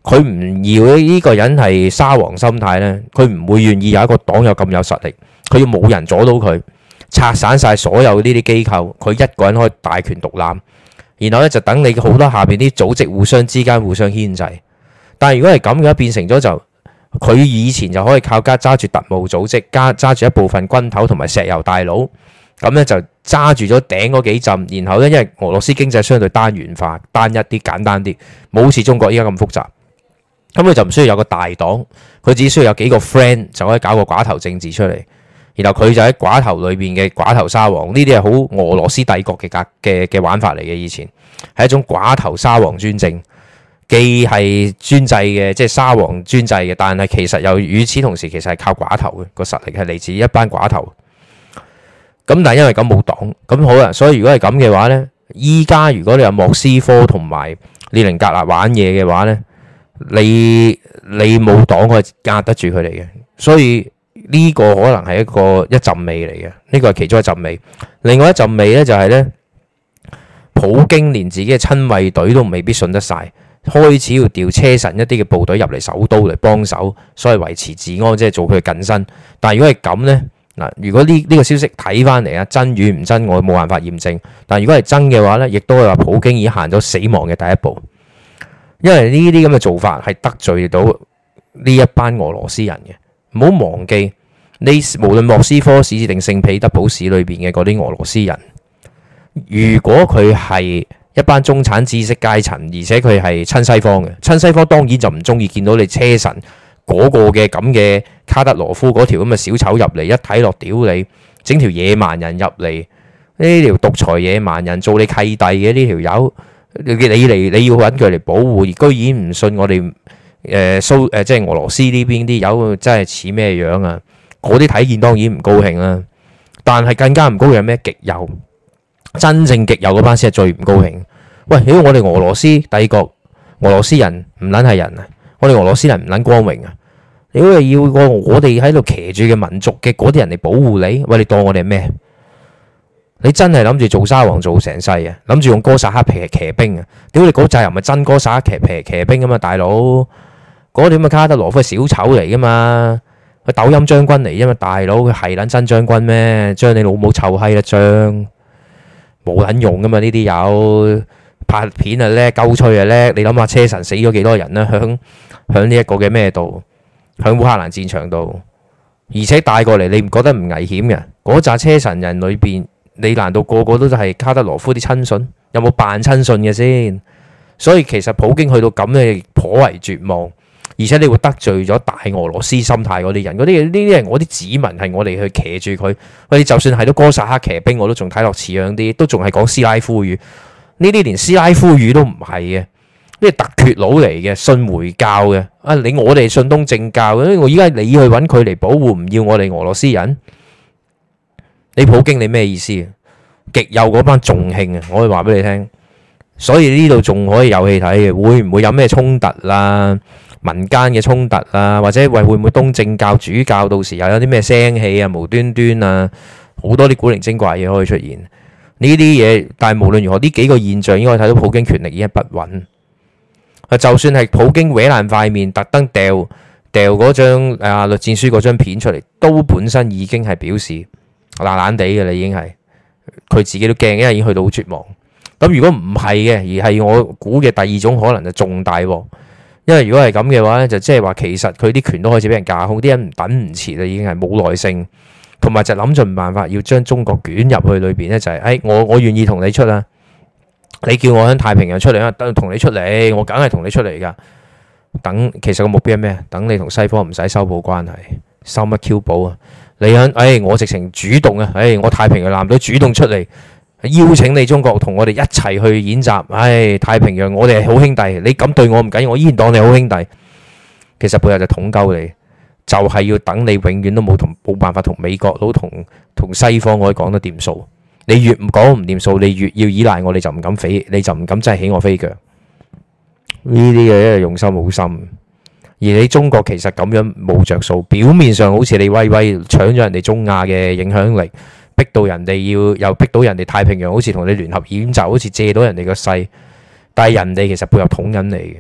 佢唔要呢個人係沙皇心態呢，佢唔會願意有一個黨有咁有實力，佢要冇人阻到佢，拆散晒所有呢啲機構，佢一個人可以大權獨攬，然後咧就等你好多下邊啲組織互相之間互相牽制。但係如果係咁嘅話，變成咗就佢以前就可以靠家揸住特務組織，加揸住一部分軍頭同埋石油大佬，咁咧就揸住咗頂嗰幾陣，然後咧因為俄羅斯經濟相對單元化、單一啲、簡單啲，冇好似中國依家咁複雜。咁佢就唔需要有個大黨，佢只需要有幾個 friend 就可以搞個寡頭政治出嚟，然後佢就喺寡頭裏邊嘅寡頭沙皇，呢啲係好俄羅斯帝國嘅格嘅嘅玩法嚟嘅。以前係一種寡頭沙皇專政，既係專制嘅，即係沙皇專制嘅，但係其實又與此同時，其實係靠寡頭嘅個實力係嚟自一班寡頭。咁但係因為咁冇黨，咁好啦，所以如果係咁嘅話呢，依家如果你有莫斯科同埋列寧格勒玩嘢嘅話呢，你你冇黨可以壓得住佢哋嘅，所以呢個可能係一個一陣味嚟嘅，呢個係其中一陣味。另外一陣味咧就係咧，普京連自己嘅親衛隊都未必信得晒，開始要調車臣一啲嘅部隊入嚟首都嚟幫手，所以維持治安，即係做佢嘅近身。但係如果係咁咧，嗱，如果呢呢個消息睇翻嚟啊，真與唔真我冇辦法驗證。但係如果係真嘅話咧，亦都係話普京已經行咗死亡嘅第一步。因為呢啲咁嘅做法係得罪到呢一班俄羅斯人嘅，唔好忘記你無論莫斯科市定聖彼得堡市裏邊嘅嗰啲俄羅斯人，如果佢係一班中產知識階層，而且佢係親西方嘅，親西方當然就唔中意見到你車臣嗰個嘅咁嘅卡德羅夫嗰條咁嘅小丑入嚟，一睇落屌你，整條野蠻人入嚟，呢條獨裁野蠻人做你契弟嘅呢條友。你嚟你要揾佢嚟保護，而居然唔信我哋誒蘇誒即係俄羅斯呢邊啲友真係似咩樣啊？嗰啲睇見當然唔高興啦，但係更加唔高興咩？極右，真正極右嗰班先係最唔高興。喂，如果我哋俄羅斯帝國，俄羅斯人唔撚係人啊！我哋俄羅斯人唔撚光榮啊！你如果係要個我哋喺度騎住嘅民族嘅嗰啲人嚟保護你，喂，你當我哋係咩？你真係諗住做沙皇做成世啊？諗住用哥薩克騎騎兵啊？屌你嗰扎又唔係真哥薩克騎騎騎兵啊嘛，大佬嗰啲咁嘅卡德羅夫係小丑嚟噶嘛，佢抖音將軍嚟啫嘛，大佬佢係撚真將軍咩？將你老母臭閪啦將，冇撚用噶嘛呢啲友，拍片啊叻，鳩吹啊叻，你諗下車臣死咗幾多人啦？響響呢一個嘅咩度？響烏克蘭戰場度，而且帶過嚟你唔覺得唔危險嘅？嗰扎車臣人裏邊。你難道個個都係卡德羅夫啲親信？有冇扮親信嘅先？所以其實普京去到咁咧，頗為絕望，而且你會得罪咗大俄羅斯心態嗰啲人。嗰啲呢啲係我啲子民，係我哋去騎住佢。我哋就算係到哥薩克騎兵，我都仲睇落似樣啲，都仲係講斯拉夫語。呢啲連斯拉夫語都唔係嘅，呢係突厥佬嚟嘅，信回教嘅。啊，你我哋信東正教嘅，我依家你去揾佢嚟保護，唔要我哋俄羅斯人？你普京你咩意思？極右嗰班仲興啊！我可以話俾你聽，所以呢度仲可以有戲睇嘅，會唔會有咩衝突啦？民間嘅衝突啦，或者喂會唔會東正教主教到時又有啲咩聲氣啊？無端端啊，好多啲古靈精怪嘢可以出現呢啲嘢。但係無論如何，呢幾個現象應該睇到普京權力已經不穩。就算係普京搲爛塊面，特登掉掉嗰張啊栗戰書嗰張片出嚟，都本身已經係表示。爛爛地嘅啦，已經係佢自己都驚，因為已經去到好絕望。咁如果唔係嘅，而係我估嘅第二種可能就重大喎。因為如果係咁嘅話咧，就即係話其實佢啲權都開始俾人架空，啲人等唔切啦，已經係冇耐性，同埋就諗盡辦法要將中國捲入去裏邊咧，就係、是、誒、哎、我我願意同你出啊，你叫我喺太平洋出嚟啊，等同你出嚟，我梗係同你出嚟噶。等其實個目標係咩？等你同西方唔使修補關係，收乜 Q 補啊？你喺，誒，我直情主動啊，誒，我太平洋艦隊主動出嚟邀請你中國同我哋一齊去演習，唉，太平洋我哋係好兄弟，你咁對我唔緊要，我依然當你好兄弟。其實背後就統鳩你，就係要等你永遠都冇同冇辦法同美國佬同同西方可以講得掂數。你越唔講唔掂數，你越要依賴我，你就唔敢飛，你就唔敢真係起我飛腳。呢啲嘅一係用心好深。而你中國其實咁樣冇着數，表面上好似你威威搶咗人哋中亞嘅影響力，逼到人哋要又逼到人哋太平洋好似同你聯合演習，好似借到人哋個勢，但係人哋其實背後捅緊你嘅。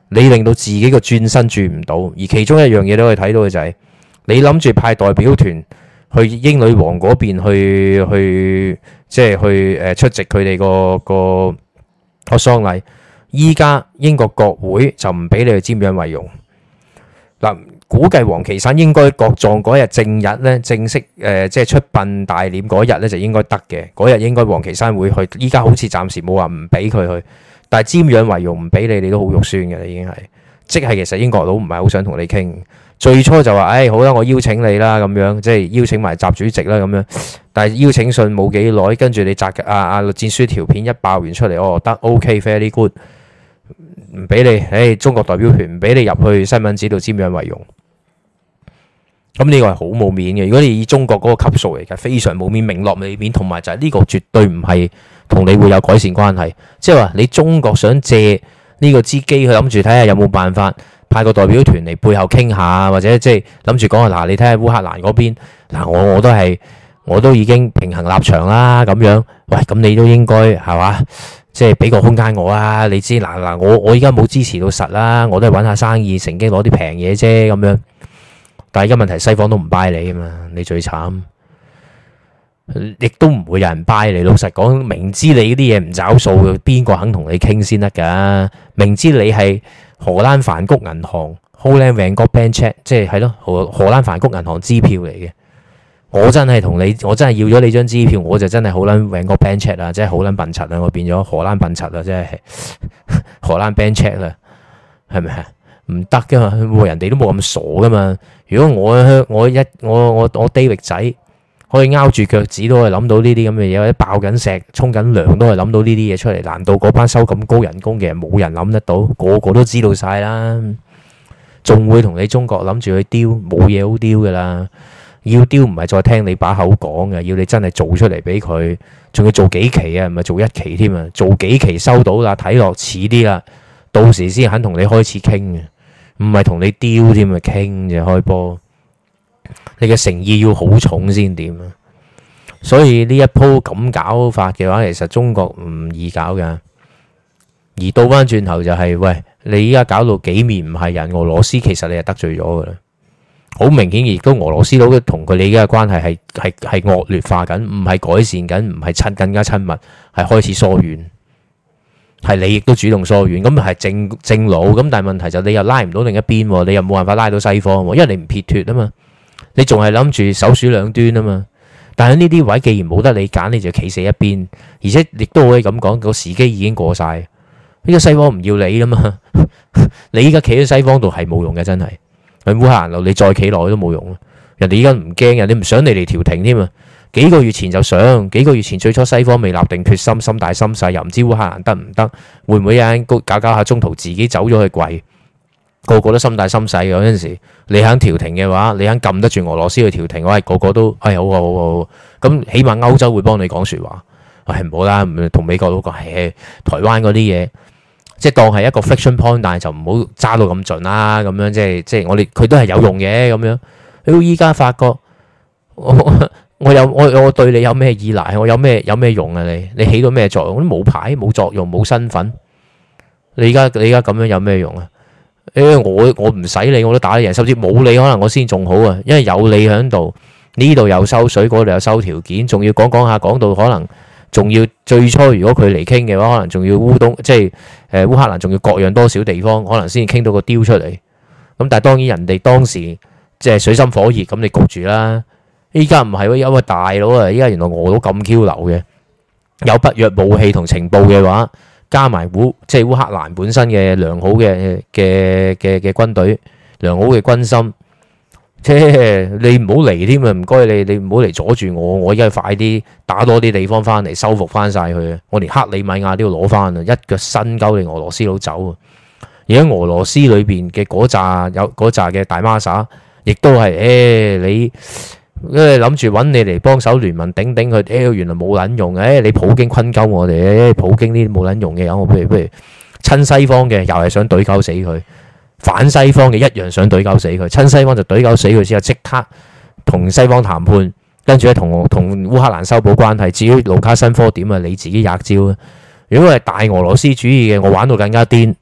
你令到自己個轉身轉唔到。而其中一樣嘢都可以睇到嘅就係、是，你諗住派代表團去英女王嗰邊去去，即係去誒出席佢哋個個個喪禮。依家英國國會就唔俾你去瞻仰遺容。嗱，估計王岐山應該國葬嗰日正日咧，正式誒、呃、即係出殯大殮嗰日咧就應該得嘅。嗰日應該王岐山會去。依家好似暫時冇話唔俾佢去，但係瞻仰遺容唔俾你，你都好肉酸嘅啦，已經係。即係其實英國佬唔係好想同你傾。最初就話，誒、哎、好啦，我邀請你啦，咁樣即係邀請埋習主席啦，咁樣。但係邀請信冇幾耐，跟住你摘啊啊栗戰書條片一爆完出嚟，哦得 OK，very good。唔俾你，誒，中國代表團唔俾你入去西敏寺度瞻仰遺容，咁呢個係好冇面嘅。如果你以中國嗰個級數嚟嘅，非常冇面，明落未面，同埋就係呢個絕對唔係同你會有改善關係。即係話你中國想借呢個支機去諗住睇下有冇辦法派個代表團嚟背後傾下，或者即係諗住講下嗱，你睇下烏克蘭嗰邊嗱，我我都係我都已經平衡立場啦，咁樣，喂，咁你都應該係嘛？即係俾個空間我啊！你知嗱嗱，我我依家冇支持到實啦，我都係揾下生意，乘機攞啲平嘢啫咁樣。但係而家問題，西方都唔 buy 你啊嘛，你最慘，亦都唔會有人 buy 你。老實講，明知你啲嘢唔找數，邊個肯同你傾先得㗎？明知你係荷蘭梵谷銀行 Holland Van Gogh Bank Check，即係係咯荷荷蘭梵谷銀行支票嚟嘅。我真係同你，我真係要咗你張支票，我就真係好撚搵個 bank check 啦，即係好撚笨柒啦，我變咗荷蘭笨柒啦，即係荷蘭 bank check 啦，係咪啊？唔得噶嘛，人哋都冇咁傻噶嘛。如果我我一我我我 David 仔可以拗住腳趾都係諗到呢啲咁嘅嘢，或者爆緊石、沖緊涼都係諗到呢啲嘢出嚟，難道嗰班收咁高人工嘅人冇人諗得到？個個都知道晒啦，仲會同你中國諗住去丟，冇嘢好丟噶啦。要丟唔係再聽你把口講嘅，要你真係做出嚟俾佢，仲要做幾期啊？唔係做一期添啊，做幾期收到啦，睇落似啲啦，到時先肯同你開始傾嘅，唔係同你丟添啊，傾就開波。你嘅誠意要好重先掂啊！所以呢一鋪咁搞法嘅話，其實中國唔易搞噶。而倒翻轉頭就係、是，喂，你依家搞到幾面唔係人，俄羅斯其實你係得罪咗噶啦。好明顯，亦都俄羅斯佬同佢哋嘅關係係係係惡劣化緊，唔係改善緊，唔係親更加親密，係開始疏遠。係你亦都主動疏遠，咁係正正路。咁但係問題就你又拉唔到另一邊，你又冇辦法拉到西方，因為你唔撇脱啊嘛，你仲係諗住首鼠兩端啊嘛。但係呢啲位既然冇得你揀，你就企死一邊，而且亦都可以咁講，個時機已經過晒。呢個西方唔要你啦嘛，你依家企喺西方度係冇用嘅，真係。喺烏克蘭度，你再企落去都冇用。人哋依家唔驚，人哋唔想你嚟調停添啊！幾個月前就想，幾個月前最初西方未立定決心，心大心細，又唔知烏克蘭得唔得，會唔會有人搞搞下中途自己走咗去跪？個個都心大心細嘅嗰陣時，你肯調停嘅話，你肯撳得住俄羅斯去調停，我係個個都係好好好好。咁起碼歐洲會幫你講説話，係唔好啦，唔同美國佬講，係台灣嗰啲嘢。即係當係一個 friction point，但係就唔好揸到咁盡啦。咁樣即係即係我哋佢都係有用嘅咁樣。到依家發覺我我有我我對你有咩依賴？我有咩有咩用啊？你你起到咩作用？我都冇牌冇作用冇身份。你而家你而家咁樣有咩用啊？誒我我唔使你我都打得贏，甚至冇你可能我先仲好啊。因為有你喺度，呢度又收水，嗰度又收條件，仲要講講下講到可能。仲要最初如果佢嚟傾嘅話，可能仲要烏東即係誒烏克蘭，仲要各樣多少地方，可能先傾到個雕出嚟。咁但係當然人哋當時即係水深火熱，咁你焗住啦。依家唔係喎，有個大佬啊！依家原來俄佬咁 Q 流嘅，有北約武器同情報嘅話，加埋烏即係烏克蘭本身嘅良好嘅嘅嘅嘅軍隊，良好嘅軍心。即係你唔好嚟添啊！唔該你，你唔好嚟阻住我。我而家快啲打多啲地方翻嚟，收復翻晒佢啊！我連克里米亞都要攞翻啊！一腳伸鳩你俄羅斯佬走啊！而喺俄羅斯裏邊嘅嗰扎有嗰扎嘅大媽撒，亦都係誒你，因為諗住揾你嚟幫手聯盟頂頂佢，誒原來冇撚用嘅，誒你普京坤鳩我哋，誒普京呢啲冇撚用嘅，我不如不如親西方嘅，又係想懟鳩死佢。反西方嘅一樣想懟鳩死佢，親西方就懟鳩死佢之後，即刻同西方談判，跟住咧同同烏克蘭修補關係。至於盧卡申科點啊，你自己吔招啊！如果係大俄羅斯主義嘅，我玩到更加癲，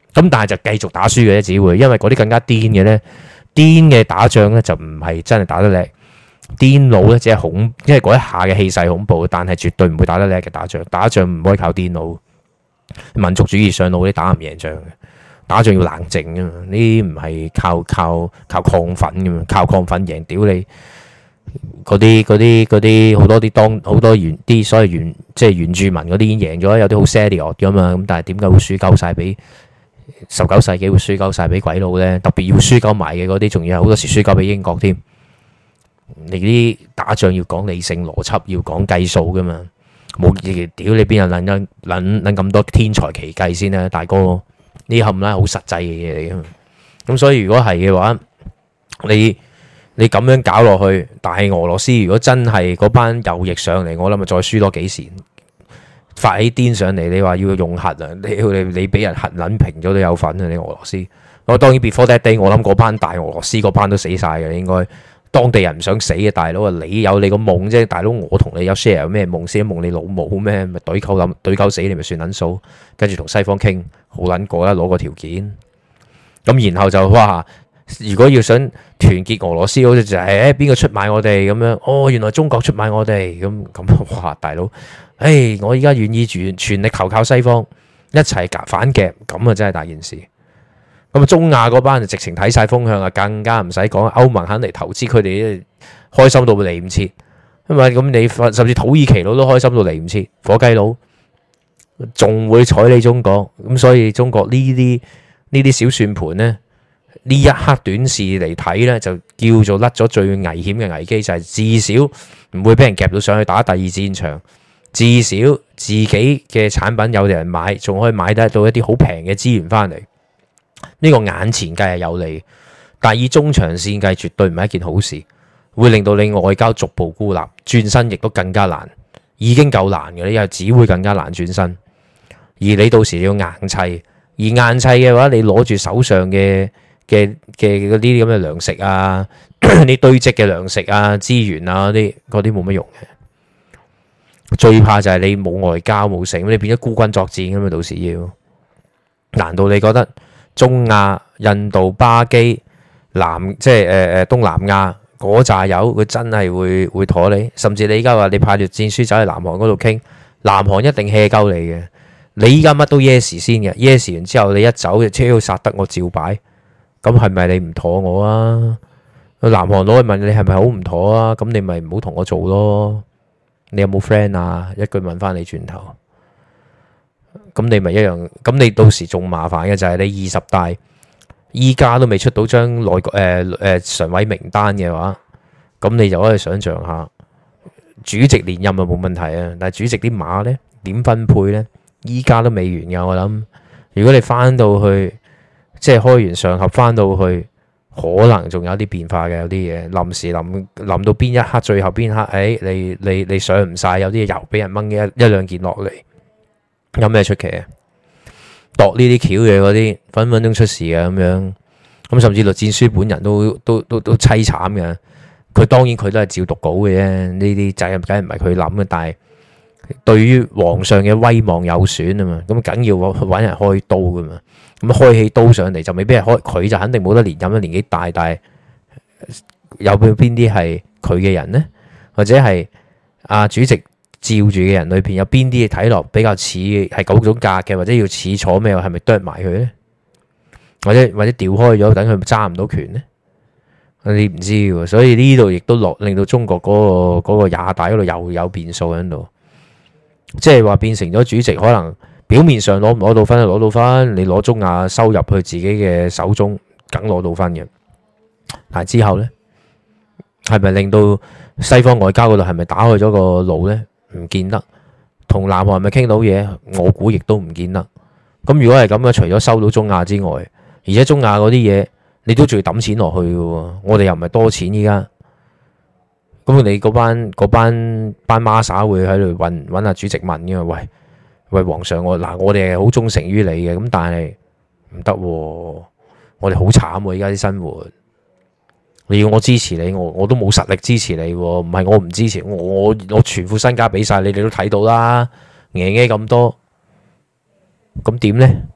咁但係就繼續打輸嘅啫，只會因為嗰啲更加癲嘅咧，癲嘅打仗咧就唔係真係打得叻，癲佬咧只係恐，因為嗰一下嘅氣勢恐怖，但係絕對唔會打得叻嘅打仗。打仗唔可以靠癲佬，民族主義上腦啲打唔贏仗嘅，打仗要冷靜噶嘛，呢啲唔係靠靠靠亢奮噶嘛，靠亢奮贏屌你嗰啲嗰啲嗰啲好多啲當好多原啲所謂原即係原住民嗰啲已經贏咗，有啲好 serious 噶嘛，咁但係點解會輸鳩晒俾？十九世紀會輸鳩晒俾鬼佬呢？特別要輸鳩埋嘅嗰啲，仲要係好多時輸鳩俾英國添。你啲打仗要講理性邏輯，要講計數噶嘛？冇嘢屌你邊有諗諗諗諗咁多天才奇計先啦，大哥呢冚啦好實際嘅嘢嚟噶嘛。咁所以如果係嘅話，你你咁樣搞落去，但係俄羅斯如果真係嗰班右翼上嚟，我諗咪再輸多幾時？發起癲上嚟，你話要用核啊？你你你俾人核撚平咗都有份啊！你俄羅斯，我當然 before that day，我諗嗰班大俄羅斯嗰班都死晒嘅，應該當地人唔想死嘅大佬啊！你有你個夢啫，大佬我同你有 share 咩夢先？夢你老母咩？咪對溝諗對溝死你咪算撚數，跟住同西方傾好撚過啦，攞個條件，咁然後就哇！如果要想團結俄羅斯，好似就係誒邊個出賣我哋咁樣？哦，原來中國出賣我哋咁咁哇！大佬。誒、哎，我而家願意全全力投靠西方，一齊夾反夾，咁啊真係大件事。咁啊，中亞嗰班就直情睇晒風向啊，更加唔使講，歐盟肯嚟投資，佢哋開心到嚟唔切。因為咁你甚至土耳其佬都開心到嚟唔切，火雞佬仲會睬你中國。咁所以中國呢啲呢啲小算盤呢，呢一刻短視嚟睇呢，就叫做甩咗最危險嘅危機，就係、是、至少唔會俾人夾到上去打第二戰場。至少自己嘅產品有人買，仲可以買得到一啲好平嘅資源翻嚟。呢個眼前計係有利，但以中長線計絕對唔係一件好事，會令到你外交逐步孤立，轉身亦都更加難。已經夠難嘅，你又只會更加難轉身。而你到時要硬砌，而硬砌嘅話，你攞住手上嘅嘅嘅嗰啲咁嘅糧食啊，你堆積嘅糧食啊、資源啊嗰啲嗰啲冇乜用嘅。最怕就係你冇外交冇成，你變咗孤軍作戰咁嘛。到時要，難道你覺得中亞、印度、巴基、南即係誒誒東南亞嗰扎友佢真係會會妥你？甚至你依家話你派條戰書走去南韓嗰度傾，南韓一定 hea 鳩你嘅。你依家乜都 yes 先嘅 ，yes 完之後你一走，車要殺得我照擺。咁係咪你唔妥我啊？南韓佬去問你係咪好唔妥啊？咁你咪唔好同我做咯。你有冇 friend 啊？一句問翻你轉頭，咁你咪一樣。咁你到時仲麻煩嘅就係你二十大依家都未出到張內閣誒誒常委名單嘅話，咁你就可以想象下主席連任就冇問題啊。但係主席啲馬呢點分配呢？依家都未完㗎。我諗如果你翻到去即係開完上合翻到去。可能仲有啲變化嘅，有啲嘢臨時臨臨到邊一刻，最後邊刻，誒、哎，你你你上唔晒，有啲嘢又俾人掹一一兩件落嚟，有咩出奇啊？度呢啲橋嘅嗰啲分分鐘出事嘅咁樣，咁甚至栗戰書本人都都都都凄慘嘅。佢當然佢都係照讀稿嘅啫，呢啲責任梗係唔係佢諗嘅，但係對於皇上嘅威望有損啊嘛，咁梗要揾人開刀噶嘛。咁開起刀上嚟就未必係開，佢就肯定冇得連任啦，年紀大，但係有邊啲係佢嘅人呢？或者係阿主席照住嘅人裏邊有邊啲睇落比較似係嗰種格嘅，或者要似坐咩？係咪剁埋佢呢？或者或者調開咗，等佢揸唔到權呢？你唔知喎，所以呢度亦都落令到中國嗰個嗰個廿大嗰度又有變數喺度，即係話變成咗主席可能。表面上攞唔攞到分就攞到分，你攞中亞收入去自己嘅手中，梗攞到分嘅。但係之後呢，係咪令到西方外交嗰度係咪打開咗個路呢？唔見得。同南韓係咪傾到嘢？我估亦都唔見得。咁如果係咁嘅，除咗收到中亞之外，而且中亞嗰啲嘢你都仲要抌錢落去嘅喎。我哋又唔係多錢依家。咁你嗰班嗰班班孖沙會喺度揾揾下主席問嘅，喂。喂，皇上我嗱，我哋係好忠誠於你嘅，咁但係唔得，我哋好慘喎！而家啲生活，你要我支持你，我我都冇實力支持你，唔係我唔支持，我我我全副身家俾晒你，你都睇到啦，嘢嘢咁多，咁點呢？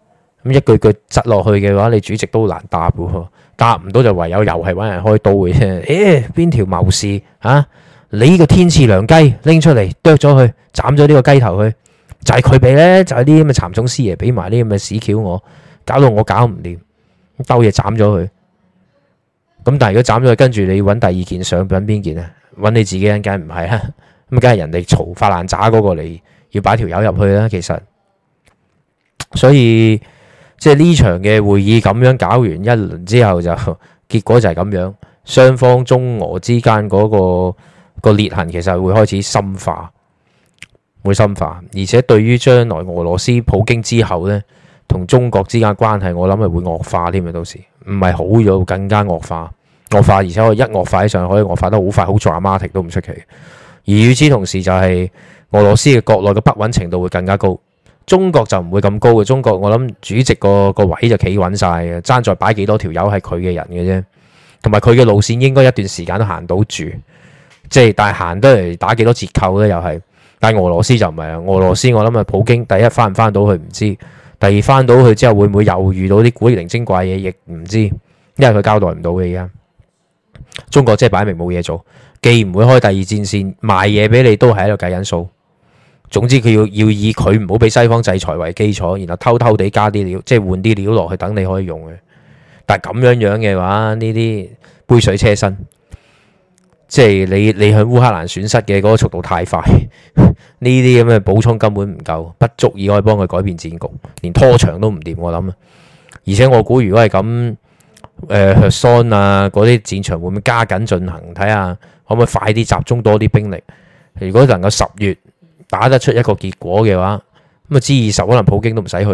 咁一句句窒落去嘅話，你主席都難答嘅，答唔到就唯有又係揾人開刀嘅啫。誒，邊條謀士啊？你呢個天賜良雞拎出嚟剁咗佢，斬咗呢個雞頭去，就係佢俾咧，就係啲咁嘅蠶種師爺俾埋啲咁嘅屎橋我，搞到我搞唔掂，兜嘢斬咗佢。咁但係如果斬咗佢，跟住你揾第二件上，揾邊件啊？揾你自己人，梗係唔係啊？咁梗係人哋嘈發爛渣嗰個嚟，要擺條友入去啦。其實，所以即係呢場嘅會議咁樣搞完一輪之後就，就結果就係咁樣，雙方中俄之間嗰、嗰個、個裂痕其實會開始深化，會深化，而且對於將來俄羅斯普京之後呢，同中國之間關係，我諗係會惡化添啊！到時唔係好咗，更加惡化，惡化，而且我一惡化起上，可以惡化得好快，好 dramatic 都唔出奇。而與此同時，就係俄羅斯嘅國內嘅不穩程度會更加高，中國就唔會咁高嘅。中國我諗主席個個位就企穩晒嘅，爭在擺幾多條友係佢嘅人嘅啫，同埋佢嘅路線應該一段時間都行到住，即係但係行得嚟打幾多折扣咧又係。但係俄羅斯就唔係啦，俄羅斯我諗啊，普京第一翻唔翻到去唔知，第二翻到去之後會唔會又遇到啲古靈精怪嘢，亦唔知，因為佢交代唔到嘅而家。中國即係擺明冇嘢做。既唔會開第二戰線，賣嘢俾你都係喺度計緊數。總之佢要要以佢唔好俾西方制裁為基礎，然後偷偷地加啲料，即係換啲料落去等你可以用嘅。但係咁樣樣嘅話，呢啲杯水車薪，即係你你向烏克蘭損失嘅嗰個速度太快，呢啲咁嘅補充根本唔夠，不足以可以幫佢改變戰局，連拖長都唔掂我諗啊。而且我估如果係咁，誒赫桑啊嗰啲戰場會唔會加緊進行？睇下。可唔可以快啲集中多啲兵力？如果能夠十月打得出一個結果嘅話，咁啊 G 二十可能普京都唔使去，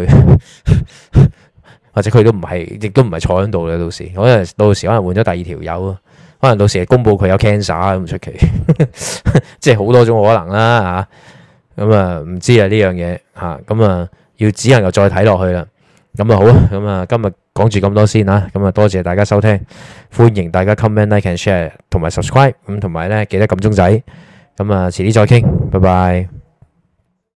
或者佢都唔係，亦都唔係坐喺度嘅。到時可能到時可能換咗第二條友，可能到時係公佈佢有 cancer 咁出奇，即係好多種可能啦嚇。咁啊唔知啊呢樣嘢嚇，咁啊要只能夠再睇落去啦。咁啊好啊，咁啊今日講住咁多先啦，咁啊多謝大家收聽，歡迎大家 comment like and share 同埋 subscribe，咁同埋咧記得撳鐘仔，咁啊遲啲再傾，拜拜。